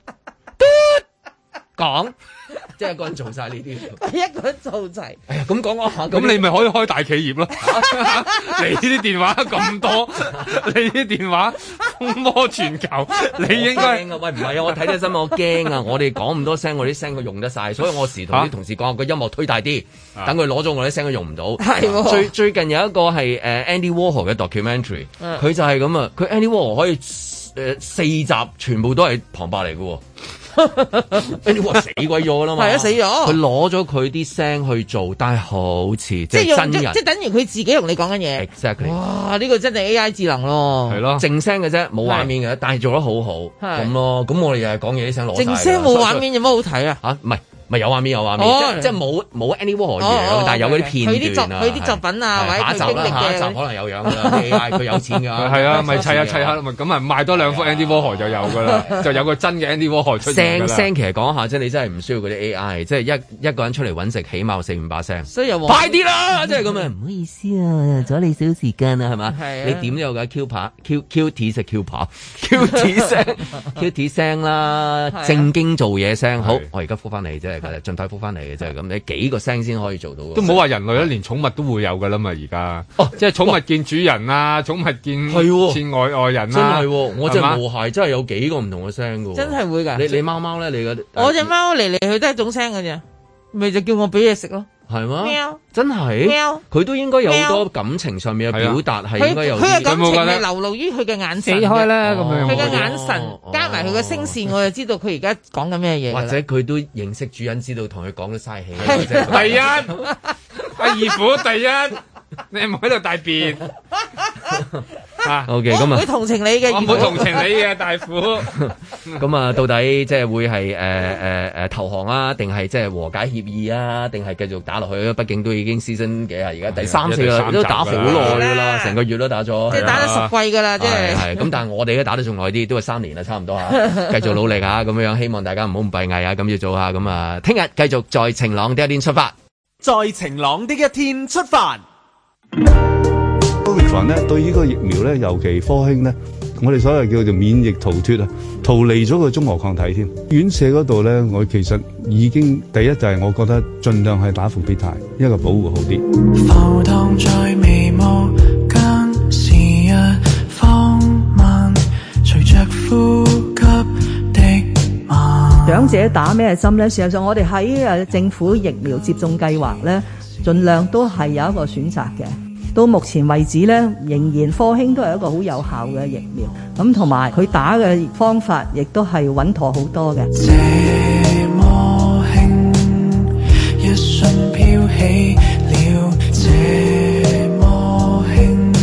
講。即係一個人做晒呢啲， 一個人做齊。 哎呀，咁講下， 咁你咪可以開大企業咯。你啲電話咁多，你啲電話風魔全球，你應該。喂， 唔係啊！我睇啲新聞，我驚啊！我哋講咁多聲，我啲聲佢用得晒，所以我時同啲同事講，個音樂推大啲，等佢攞咗我啲聲，佢用唔到。係最近有一個係Andy Warhol 嘅 documentary，佢就係咁啊！佢 Andy Warhol 可以4集全部都係旁白嚟嘅喎。 Andy Warhol 死鬼咗啦嘛， 係啊，死咗。 佢攞咗佢啲聲去做，但係好似即係真人， 即係等於佢自己同你講緊嘢。 Exactly。 哇！呢個真係 AI 智能咯， 係咯， 靜聲嘅啫，冇畫面嘅，但係做得好好咁咯。咁我哋又係講嘢啲聲攞晒。 靜聲冇畫面有乜好睇啊？ 嚇，唔係有畫面，即係冇 Andy Warhol 樣，但係有嗰啲片段佢啲作品啊，或者佢經歷嘅。下一集可能有樣㗎啦，AI 佢有錢㗎。 係啊，咪砌下咁啊賣多兩幅 Andy Warhol 就有㗎啦，就有個真嘅 Andy Warhol 出現㗎啦。 聲其實講下，即係你真係唔需要嗰啲 AI，即係一個人出嚟揾食，起碼4-5把聲。 所以又快啲啦，即係咁啊！唔好意思啊，阻你少時間啊，係嘛？你點都有㗎 Q T 聲啦，正經做嘢聲。好，我而家覆翻你啫。盡快覆翻嚟嘅啫，咁你幾個聲先可以做到？ 都唔好話人類啦，連寵物都會有噶啦嘛，而家即係寵物見主人啊，寵物見外人啊， 真係，我隻毛孩真係有幾個唔同嘅聲噶， 真係會噶。 你貓貓咧， 我隻貓嚟嚟去都係一種聲噶啫，咪就叫我俾嘢食咯。 係嗎？ 喵， 真係，佢都應該有好多感情上面嘅表達，係應該有。 佢嘅感情係流露於佢嘅眼神。 死開啦咁樣。 佢嘅眼神加埋佢嘅聲線，我就知道佢而家講緊咩嘢。 或者佢都認識主人，知道同佢講得嘥氣。 第一，阿二虎第一，你唔喺度大便。 OK， 咁啊， 會同情你嘅， 我唔會同情你嘅大虎。 咁啊，到底即係會係投降啊，定係即係和解協議啊，定係繼續打落去？畢竟都已經season幾啊，而家第三四啦，都打好耐㗎啦，成個月都打咗， 即係打咗10季㗎啦，即係。 係咁，但係我哋都打得仲耐啲，都係3年啦，差唔多嚇。繼續努力嚇，咁樣希望大家唔好咁閉翳啊，咁要做下咁啊。聽日繼續在晴朗的一天出發， 在晴朗的一天出發。 Omicron 咧對呢個疫苗咧，尤其科興咧，我哋所謂叫做免疫逃脫啊，逃離咗個中和抗體添。院舍嗰度咧，我其實已經第一就係我覺得盡量係打復必泰，一個保護好啲。浮蕩在眉毛間，時日放慢，隨着呼吸的慢。長者打咩針咧？事實上，我哋喺政府疫苗接種計劃咧，盡量都係有一個選擇嘅。到目前為止咧，仍然科興都係一個好有效嘅疫苗，咁同埋佢打嘅方法亦都係穩妥好多嘅。這麼輕，一瞬飄起了，這麼輕。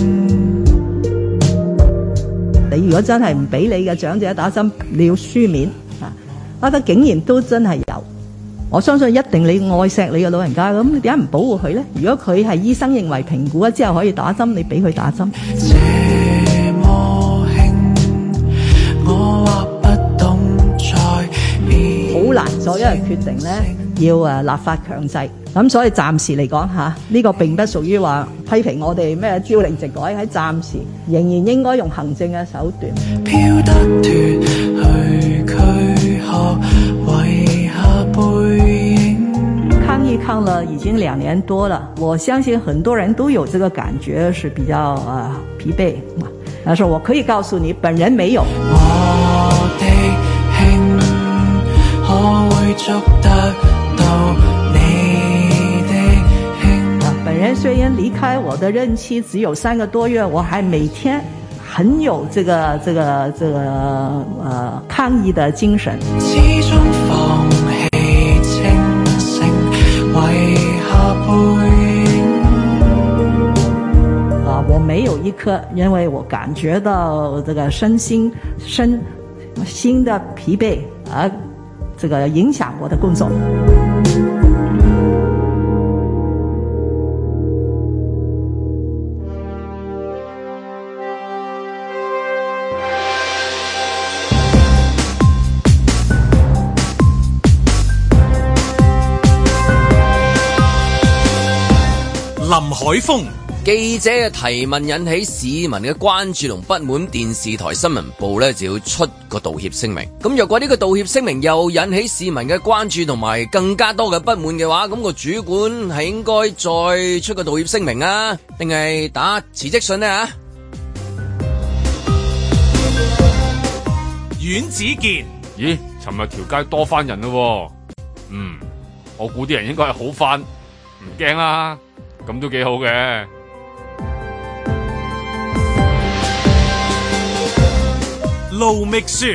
你如果真係唔俾你嘅長者打針，你要書面啊，得竟然都真係有。我相信一定你愛錫你嘅老人家，咁你點解唔保護佢咧？如果佢係醫生認為評估咗之後可以打針，你俾佢打針。這麼輕，我話不懂再變。好難做一個決定咧，要立法強制。咁所以暫時嚟講嚇，呢個並不屬於話批評我哋咩朝令夕改，喺暫時仍然應該用行政嘅手段。飄得脫去軀殼，遺下背影。抗疫抗了已經2年多了，我相信很多人都有這個感覺，是比較疲憊。但是我可以告訴你，本人沒有。我的輕可會捉得到你的輕。本人雖然離開我的任期只有3個多月，我還每天很有這個抗疫的精神。始終放棄清醒，遺下背影。我沒有一刻因為我感覺到這個身心的疲憊而這個影響我的工作。 林海峰記者嘅提問引起市民嘅關注同不滿，電視台新聞部呢就要出個道歉聲明。咁若果呢個道歉聲明又引起市民嘅關注同埋更加多嘅不滿嘅話，咁個主管係應該再出個道歉聲明啊，定係打辭職信呢？ 阮子健， 咦？尋日條街多翻人咯，我估啲人應該係好翻，唔驚啦。咁都幾好嘅。 盧覓雪，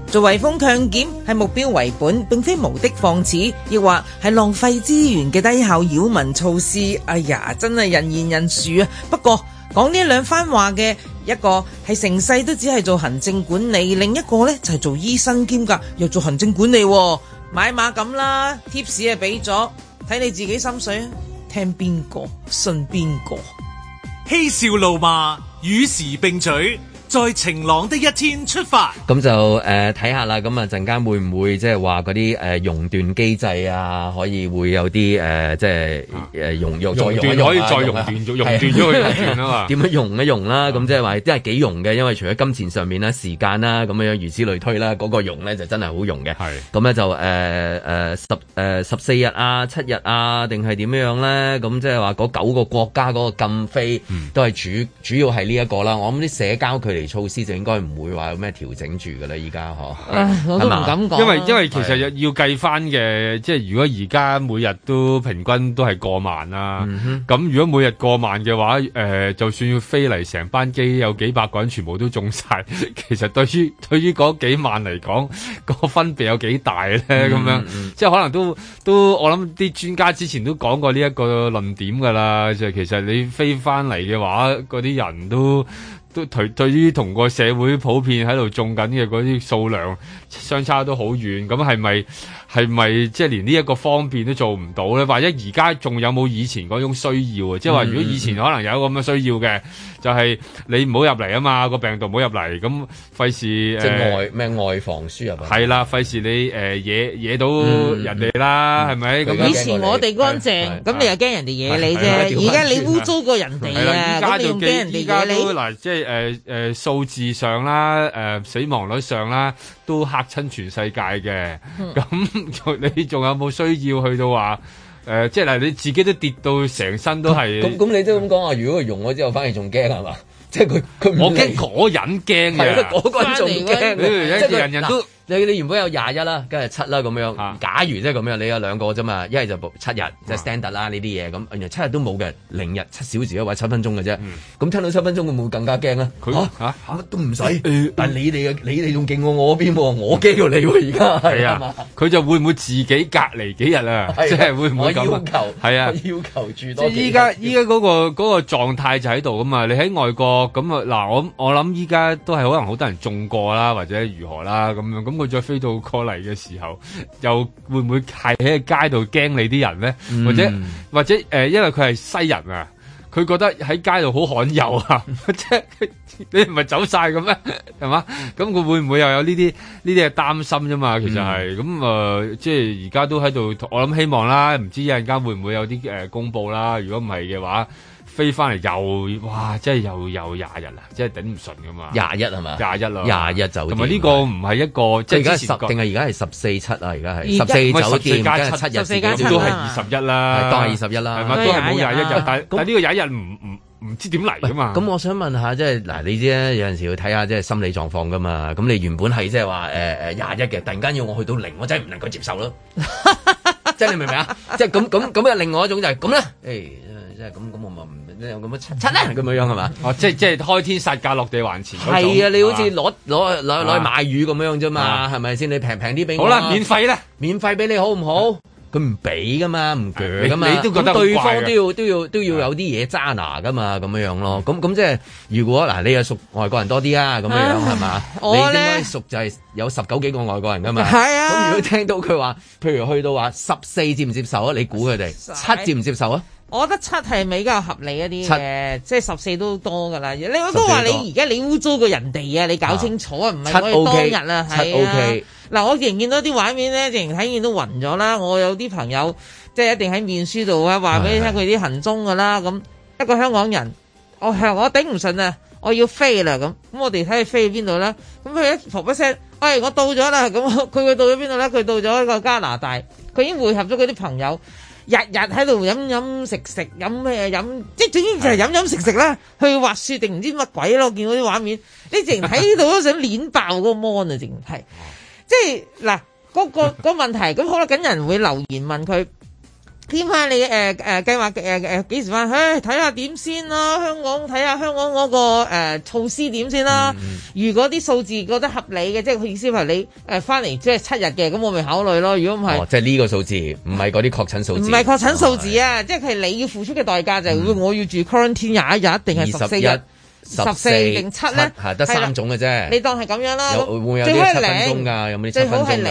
做圍封強檢係目標為本，並非無的放矢，亦或係浪費資源嘅低效擾民措施。哎呀，真係人言人殊啊！不過講呢兩番話嘅一個係成世都只係做行政管理，另一個呢就係做醫生兼㗎，又做行政管理。買馬咁啦，貼士係俾咗，睇你自己心水啊！聽邊個信邊個。 嬉笑怒罵與時並舉，在晴朗的一天出發。 咁就睇下啦，咁啊陣間會唔會即係話嗰啲熔斷機制啊，可以會有啲即係熔斷可以再熔斷熔斷咗佢熔斷啊嘛？點樣熔一熔啦？咁即係話都係幾熔嘅，因為除咗金錢上面啦、時間啦咁樣如此類推啦，嗰個熔咧就真係好熔嘅。係咁咧就14日啊、7日啊，定係點樣咧？咁即係話嗰9個國家嗰個禁飛都係主要係呢一個啦。我諗啲社交距離措施就應該唔會話有咩調整住㗎啦，依家我都唔敢講。 因為其實要計翻嘅，即係如果而家每日都平均都係過萬啦，咁如果每日過萬嘅話，就算要飛嚟成班機有幾百個人全部都中晒，其實對於嗰幾萬嚟講，個分別有幾大咧？咁樣即係可能都我諗啲專家之前都講過呢一個論點㗎啦，就係其實你飛翻嚟嘅話，嗰啲人都對於同個社會普遍喺度種緊嘅嗰啲數量相差都好遠，咁係咪即係連呢一個方便都做唔到咧？或者而家仲有冇以前嗰種需要啊？即係話如果以前可能有咁嘅需要嘅，就係你唔好入嚟啊嘛，個病毒唔好入嚟，咁費事即係外防輸入啊？ 係啦，費事你惹到人哋啦，係咪？咁以前我哋乾淨，咁你又驚人哋惹你啫。而家你污糟過人哋啊，咁你唔驚人哋惹你？ 嗱，即係數字上啦，死亡率上啦，都嚇親全世界嘅。咁你仲有冇需要去到話即係嗱，你自己都跌到成身都係。 咁你都咁講啊？如果佢溶咗之後，反而仲驚係嘛？即係佢我驚嗰人驚嘅， 嗰個人仲驚。 即係人人都。 你原本有21啦，跟住7啦咁樣。假如即係咁樣，你有2個啫嘛，一係就7日，即係 standard 啦呢啲嘢。咁原來7日都冇嘅，0日7小時或者7分鐘嘅啫。咁聽到7分鐘會唔會更加驚啊？佢乜都唔使。但係你哋仲勁過我邊喎？我驚過你喎而家。係啊， 佢就會唔會自己隔離幾日啊？即係會唔會咁？ 要求係啊， 要求住多。 即係依家嗰個狀態就喺度噶嘛。你喺外國咁啊嗱，我諗依家都係可能好多人中過啦，或者如何啦咁樣。咁佢再飛到過嚟嘅時候，又會唔會係喺街度驚你啲人咧？或者因為佢係西人啊，佢覺得喺街度好罕有啊，即係你唔係走晒嘅咩？係嘛？咁佢會唔會又有呢啲嘅擔心啫嘛？其實係咁即係而家都喺度，我諗希望啦，唔知一陣間會唔會有啲公佈啦？如果唔係嘅話，飛翻嚟又哇，真係又20日啦，真係頂唔順噶嘛。 21係嘛？21咯 ，21酒店。同埋呢個唔係一個即係而家10定係而家係14/7啊？而家係14酒店加7日，14加7都係21啦，當係21啦，係嘛？都係冇21日，但係呢個21日唔知點嚟噶嘛？ 咁我想問下，即係嗱，你知咧，有陣時要睇下即係心理狀況噶嘛。咁你原本係即係話21嘅，突然間要我去到0，我真係唔能夠接受咯。即係你明唔明啊？即係咁另外一種就係咁啦。即係咁我咪唔咁樣七咧咁樣係嘛？ 哦，即係開天殺價落地還錢。 係啊，你好似攞去買魚咁樣啫嘛，係咪先？你平啲俾我。 好啦，免費咧， 免費俾你好唔好？佢唔俾噶嘛，唔鋸噶嘛。 你都覺得對方都要有啲嘢揸拿噶嘛，咁樣咯。咁即係如果嗱，你係屬外國人多啲啊，咁樣係嘛？你應該屬就係有19幾個外國人噶嘛。係啊。咁如果聽到佢話，譬如去到話14接唔接受啊？你估佢哋7接唔接受啊？ 我覺得7係比較合理一啲嘅，即係14都多噶啦。你都話你而家你污糟過人哋啊，你搞清楚啊，唔係我哋當日啊，係啊。嗱，我仍然見到啲畫面咧，仍然睇見都暈咗啦。我有啲朋友即係一定喺面書度啊，話俾你聽佢啲行蹤噶啦。咁一個香港人，我頂唔順啊，我要飛啦咁。我哋睇佢飛去邊度啦？咁佢一噗一聲，喂，我到咗啦。咁佢到咗邊度咧？佢到咗一個加拿大，佢已經匯合咗佢啲朋友。日喺度飲食飲咩飲，即係總之就係飲食啦。去滑雪定唔知乜鬼咯？我見到啲畫面，你淨睇到都想攣爆嗰個 mon 啊！淨係，即係嗱嗰個問題。咁好啦，緊人會留言問佢， 添下你計劃幾時翻？睇下點先啦。睇下香港嗰個措施點先啦。如果啲數字覺得合理嘅，即係佢意思係你翻嚟即係7日嘅，咁我咪考慮咯。如果唔係， 即係呢個數字，唔係嗰啲確診數字， 唔係確診數字啊，即係你要付出嘅代價就係我要住 quarantine 21日定係14日。14定7咧， 係得3種嘅啫。 你當係咁樣啦。 會唔會有啲7分鐘㗎？有冇啲7分鐘㗎？ 最好係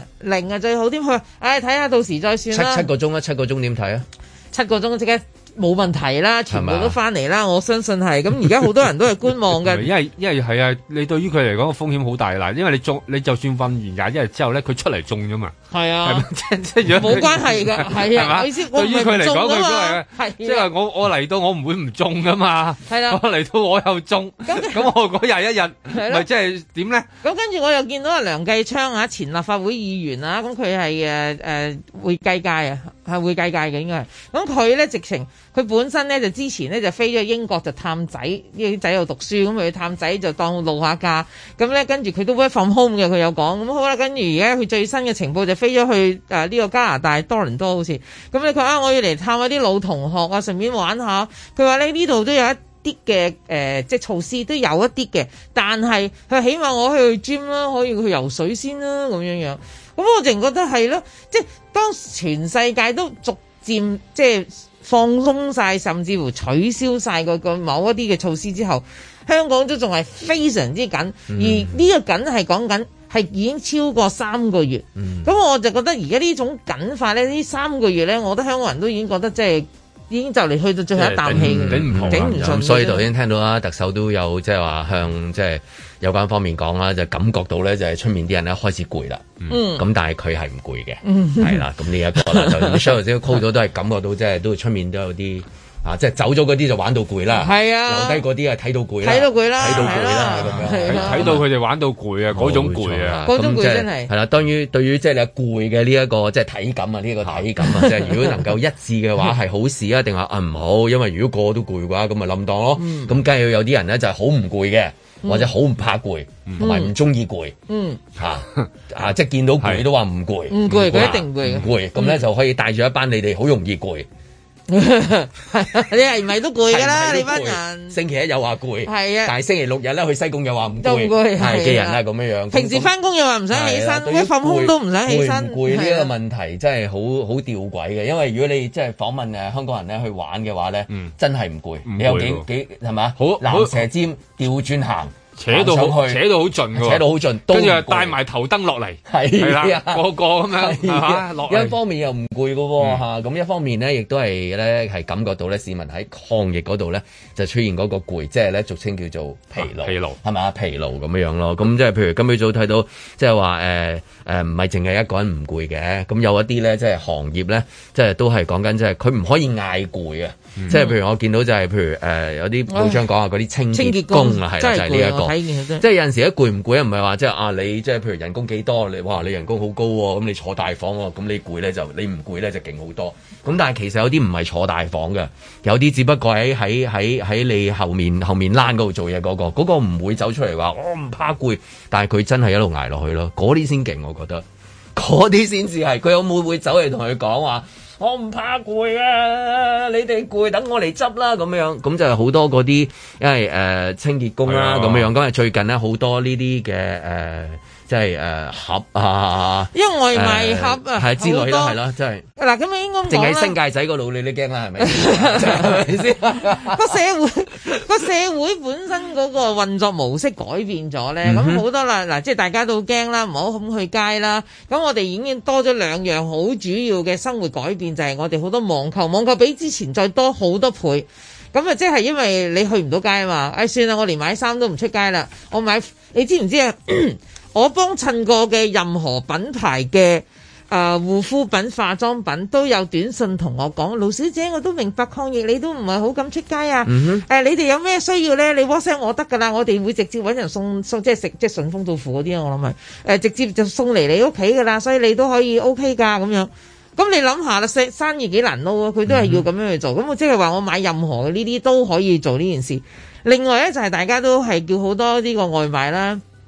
0啊最好添。佢睇下到時再算啦。 7個鐘啊，7個鐘點睇啊？7 個鐘即刻冇問題啦，全部都翻嚟啦，我相信係。咁而家好多人都係觀望嘅。 因為係啊，你對於佢嚟講個風險好大啦。因為你就算瞓完21日之後咧，佢出嚟中咗嘛。係啊，即係冇關係㗎，係啊。我意思對於佢嚟講，佢都係即係我嚟到我唔會唔中㗎嘛。係啦，我嚟到我又中，咁我嗰21日咪即係點咧？咁跟住我又見到阿梁繼昌前立法會議員啊，咁佢係會計界啊，係會計界嘅應該係。咁佢咧直情。佢本身咧就之前咧就飛咗英國就探仔，因為啲仔喺度讀書，咁佢去探仔就當露下假。咁咧跟住佢都 work from home 嘅，佢有講。咁好啦，跟住而家佢最新嘅情報就飛咗去呢個加拿大多倫多好似。咁咧佢話我要嚟探下啲老同學啊，順便玩下。佢話咧呢度都有一啲嘅即係措施都有一啲嘅，但係佢起碼我去 gym 啦，可以去游水先啦咁樣樣。咁我淨覺得係咯，即係當全世界都逐漸即係放鬆晒，甚至乎取消晒個某一啲嘅措施之後，香港都仲係非常之緊，而呢個緊係講緊係已經超過3個月。咁我就覺得而家呢種緊法咧，呢3個月咧，我覺得香港人都已經覺得即係已經就嚟去到最後一啖氣，頂唔順。所以頭先聽到啦，特首都有即係話向即係有關方面講啦，就感覺到咧就係出面啲人咧開始攰啦。咁但係佢係唔攰嘅，係啦。咁呢一個啦，就 Michelle 頭先 call 咗都係感覺到即係都出面都有啲即係走咗嗰啲就玩到攰啦。係啊，留低嗰啲啊睇到攰啦，睇到攰啦咁樣，睇到佢哋玩到攰啊，嗰種攰啊，嗰種攰真係係啦。對於即係你攰嘅呢一個即係體感啊，呢個體感啊，即係如果能夠一致嘅話係好事啊，定話唔好？因為如果個個都攰嘅話，咁咪冧當咯。咁梗係要有啲人咧就係好唔攰嘅。或者好唔怕攰，同埋唔中意攰，即係見到攰都話唔攰，唔攰佢一定唔攰，唔攰咁咧就可以帶住一班你哋好容易攰，你係咪都攰㗎啦？你班人星期一又話攰，係啊，但係星期6日咧去西貢又話唔攰，係嘅人啦咁樣樣。平時翻工又話唔想起身，一放空都唔想起身。攰呢一個問題真係好吊詭嘅，因為如果你即係訪問香港人咧去玩嘅話咧，真係唔攰，你有幾係嘛？好蚺蛇尖調轉行。扯到好盡㗎，扯到好盡，跟住又帶埋頭燈落嚟，係啦，個咁樣落嚟。一方面又唔攰㗎喎，咁一方面咧，亦都係咧係感覺到咧，市民喺抗疫嗰度咧就出現嗰個攰，即係咧俗稱叫做疲勞，係咪？疲勞咁樣咯。咁即係譬如今朝早睇到，即係話唔係淨係一個人唔攰嘅，咁有一啲咧即係行業咧，即係都係講緊即係佢唔可以嗌攰啊！即係譬如我見到就係譬如有啲報章講話嗰啲清潔工啊，係啦，就係呢一個。即係有陣時一攰唔攰啊？唔係話即係你即係譬如人工幾多？你人工好高喎，咁你坐大房喎，咁你攰咧就你唔攰咧就勁好多。咁但係其實有啲唔係坐大房嘅，有啲只不過喺你後面欄嗰度做嘢嗰個唔會走出嚟話我唔怕攰，但係佢真係一路捱落去咯。嗰啲先勁，我覺得嗰啲先至係。佢有冇會走嚟同佢講話？我唔怕攰啊！你哋攰，等我嚟執啦咁樣，咁就係好多嗰啲，因為清潔工啦咁樣，咁係最近咧好多呢啲嘅即係盒啊，因為外賣盒啊，係之類啦，係咯，真係嗱咁應該淨係新界仔嗰度你都驚啦，係咪？係咪先？個社會本身嗰個運作模式改變咗咧，咁好多啦嗱，即係大家都驚啦，唔好咁去街啦。咁我哋已經多咗2樣好主要嘅生活改變，就係我哋好多網購比之前再多好多倍。咁啊，即係因為你去唔到街啊嘛，算啦，我連買衫都唔出街啦。我買，你知唔知啊？我幫襯過嘅任何品牌嘅護膚品、化妝品都有短信同我講，盧小姐，我都明白抗疫，你都唔係好敢出街啊。你哋有咩需要咧？你 WhatsApp 我得㗎啦，我哋會直接揾人送，即係即係順豐到付嗰啲，我諗係直接就送嚟你屋企㗎啦，所以你都可以 OK 㗎咁樣。咁你諗下啦，生意幾難撈啊？佢都係要咁樣去做。咁我即係話我買任何嘅呢啲都可以做呢件事。另外咧就係大家都係叫好多呢個外賣啦。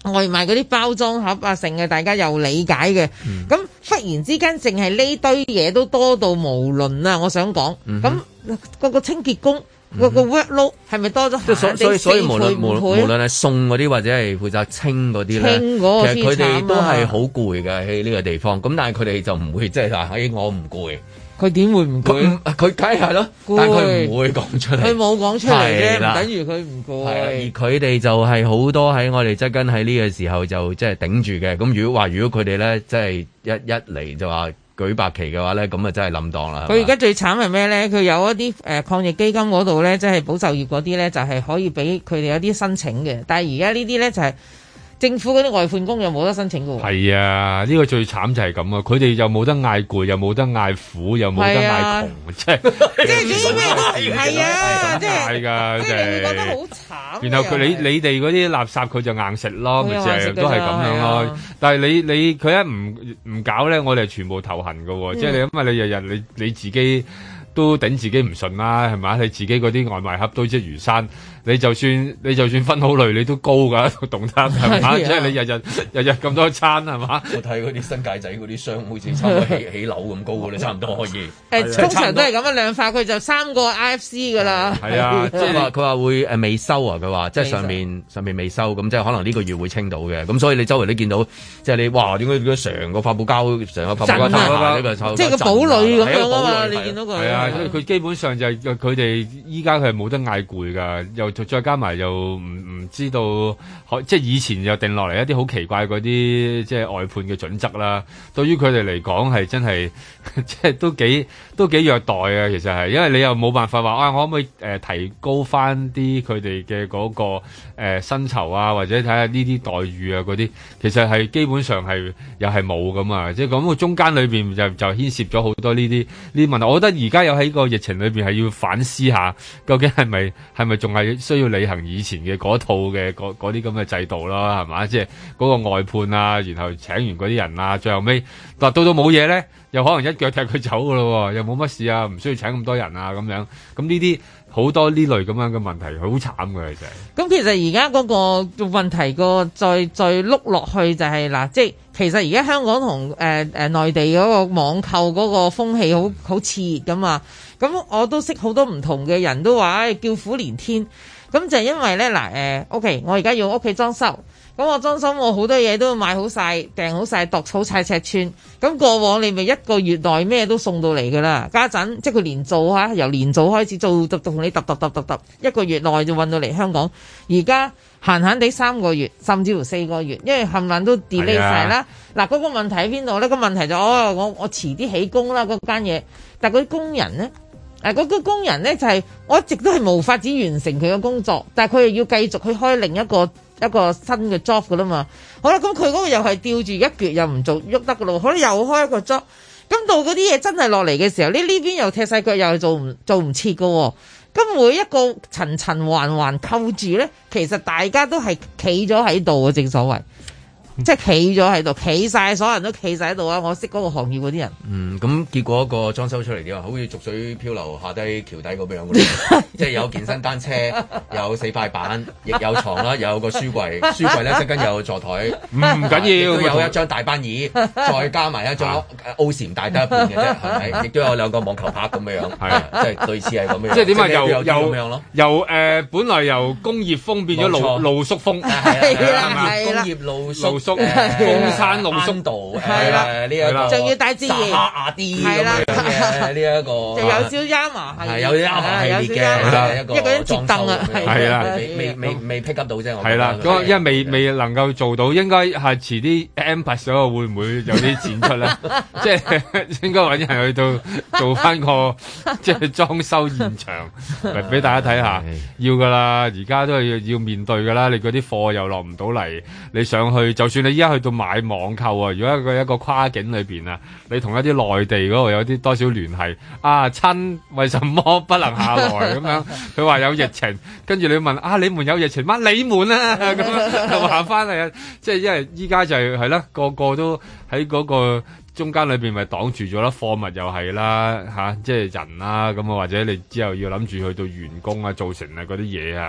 外賣嗰啲包裝盒啊，成嘅大家又理解嘅。咁忽然之間，淨係呢堆嘢都多到無論啊！我想講，咁個清潔工個 workload 係咪多咗？ 所以無論係送嗰啲或者係負責清嗰啲咧，其實佢哋都係好攰嘅喺呢個地方。咁但係佢哋就唔會即係話，我唔攰。 佢點會唔攰？ 佢梗係咯，但係佢唔會講出嚟。 佢冇講出嚟啫，唔等於佢唔攰。 而佢哋就係好多喺我哋側跟喺呢個時候就即係頂住嘅。咁如果佢哋咧，即係一嚟就話舉白旗嘅話咧，咁啊真係冧檔啦。佢而家最慘係咩咧？佢有一啲抗疫基金嗰度咧，即係保就業嗰啲咧，就係可以俾佢哋有啲申請嘅。但係而家呢啲咧就係。政府嗰啲外判工又冇得申請嘅喎。係啊，呢個最慘就係咁啊！佢哋又冇得嗌攰，又冇得嗌苦，又冇得嗌窮，即係啲咩都唔係啊！即係㗎， 即係你會覺得好慘。 然後你哋嗰啲垃圾佢就硬食咯，咪成日都係咁樣咯。但係你佢一唔搞咧，我哋全部頭痕㗎喎。即係你因為你日日你自己都頂自己唔順啦，係咪？你自己嗰啲外賣盒堆積如山。你就算分好類，你都高㗎個動態係嘛？即係你日日咁多餐係嘛？ 我睇嗰啲新界仔嗰啲箱，好似差唔多起樓咁高㗎，你差唔多可以。 通常都係咁樣量化，佢就3個 IFC 㗎啦。 係啊，即係佢話會未收啊，佢話即係上面未收，咁即係可能呢個月會清到嘅。咁所以你周圍都見到，即係你哇點解成個發泡膠成個發泡膠呢個即係個堡壘咁樣啊嘛！你見到佢係啊，佢基本上就係佢哋依家佢係冇得嗌攰㗎，再加埋又唔知道，即係以前又定落嚟一啲好奇怪嗰啲即係外判嘅準則啦。對於佢哋嚟講係真係即係都幾虐待啊！其實係，因為你又冇辦法話我可唔可以提高翻啲佢哋嘅嗰個薪酬啊，或者睇下呢啲待遇啊嗰啲，其實係基本上係又係冇咁啊！即係咁個中間裏邊就牽涉咗好多呢啲問題。我覺得而家有喺個疫情裏邊係要反思下，究竟係咪仲係需要履行以前嘅嗰套嘅嗰啲咁嘅制度啦，係嘛？即係嗰個外判啊，然後請完嗰啲人啊，最後尾到冇嘢咧，又可能一腳踢佢走噶咯，又冇乜事啊，唔需要請咁多人啊，咁樣咁呢啲好多呢類咁樣嘅問題，好慘嘅其實。咁其實而家嗰個問題個再碌落去就係嗱，即係其實而家香港同內地嗰個網購嗰個風氣好熾熱噶嘛。咁我都識好多唔同嘅人都話叫苦連天。咁就係因為咧OK， 我而家要屋企裝修，咁我裝修我好多嘢都要買好晒、訂好晒、度好晒尺寸。咁過往你咪1個月內咩都送到嚟㗎啦，家陣即係佢連做嚇，由年做開始做，同你揼1個月內就運到嚟香港。而家閒地3個月，甚至乎4個月，因為冚唪唥都 delay 晒啦。嗱，嗰個問題喺邊度咧？個問題就我遲啲起工啦，嗰間嘢，但係嗰啲工人咧。嗰個工人咧就係我一直都係無法子完成佢嘅工作，但係佢又要繼續去開另一個新嘅 job 噶啦嘛。好啦，咁佢嗰個又係吊住一橛又唔做喐得噶咯，可能又開一個 job。咁到嗰啲嘢真係落嚟嘅時候，呢邊又踢晒腳，又做唔切噶。咁每一個層層環扣住咧，其實大家都係企咗喺度啊，正所謂。即係企咗喺度，企晒，所有人都企晒喺度啊！我識嗰個行業嗰啲人。 咁結果個裝修出嚟點啊？好似逐水漂流下低橋底咁樣嘅，即係有健身單車，有4塊板，亦有床啦，又有個書櫃，書櫃咧側跟有座台，唔緊要，有一張大班椅，再加埋一張 O 禪大得一半嘅啫，係咪？亦都有2個網球拍咁樣，係即係類似係咁樣。 即係點啊？由本來由工業風變咗露宿風， 係啦， 工業露宿。 風山露宿道係啦， 呢一個仲要大自然亞啲咁樣嘅呢一個， 就有少 Yama 係有啲 Yama 系列嘅一個裝修啊， 係啦， 未 pick up 到啫，我係啦，因為未能夠做到，應該係遲啲 Amber 嗰個會唔會有啲展出咧？即係應該揾人去到做翻個即係裝修現場嚟俾大家睇下，要噶啦，而家都係要面對噶啦，你嗰啲貨又落唔到嚟，你上去就算你依家去到買網購啊，如果一個跨境裏邊啊，你同一啲內地嗰度有啲多少聯繫啊，親為什麼不能下來咁樣？佢話有疫情，跟住你問啊，你們有疫情嗎？你們啊咁樣又話翻嚟啊，即係因為依家就係啦，個個都喺嗰個中間裏邊咪擋住咗啦，貨物又係啦嚇，即係人啦咁啊，或者你之後要諗住去到員工啊、造成啊嗰啲嘢啊。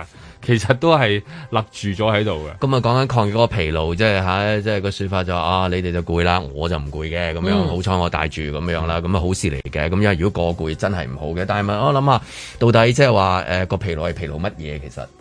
其實都係立住咗喺度嘅。 咁啊，講緊抗疫嗰個疲勞，即係個説法就話你哋就攰啦，我就唔攰嘅咁樣。好彩我帶住咁樣啦，咁啊好事嚟嘅。咁因為如果個攰真係唔好嘅，但係我諗下，到底即係話個疲勞係疲勞乜嘢其實？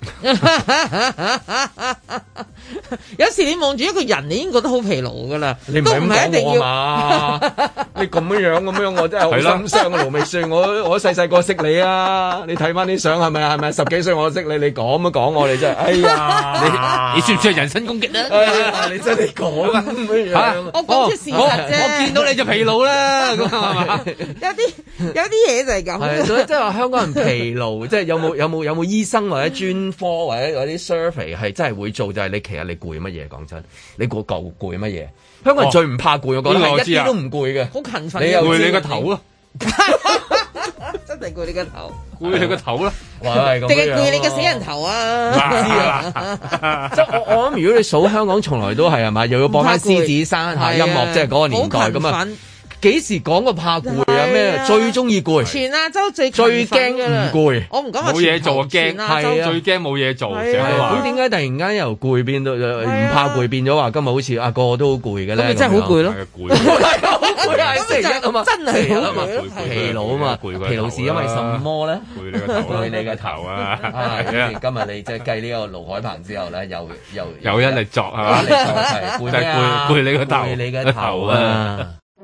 有時你望住一個人，你已經覺得好疲勞噶啦。 你唔係咁講我嘛？你咁樣，我真係好心傷啊！盧覓雪，我細細個識你啊！你睇翻啲相係咪啊？係咪10幾歲我識你？你咁講我哋真係，哎呀！ 你算唔算係人身攻擊啊？ 你真係講咁樣， 我講出事實啫。 我見到你就疲勞啦，咁係嘛？ 有啲嘢就係咁。 所以即係話香港人疲勞，即係有冇醫生或者專科或者嗰啲 survey 係真係會做，就係其實你攰乜嘢？講真，你攰乜嘢？香港人最唔怕攰，我覺得係一啲都唔攰嘅， 好勤奮。 你又攰你個頭咯， 真係攰你個頭， 攰你個頭啦， 定係攰你個死人頭啊？ 知啊，即係我諗，如果你數香港，從來都係嘛，又要播翻獅子山下音樂，即係嗰個年代咁啊。幾時講過怕攰啊？咩最中意攰？ 全亞洲最驚唔攰。 我唔講話冇嘢做驚， 係啊， 最驚冇嘢做。 咁點解突然間由攰變到唔怕攰，變咗話今日好似個個都好攰嘅咧？ 咁咪真係好攰咯， 攰， 星期一啊嘛， 真係好攰， 疲勞啊嘛，疲勞是因為什麼咧？ 攰你個頭， 攰你個頭啊！今日你即係計呢個盧海鵬之後咧，又一力作係嘛？攰你個頭， 攰你個頭啊！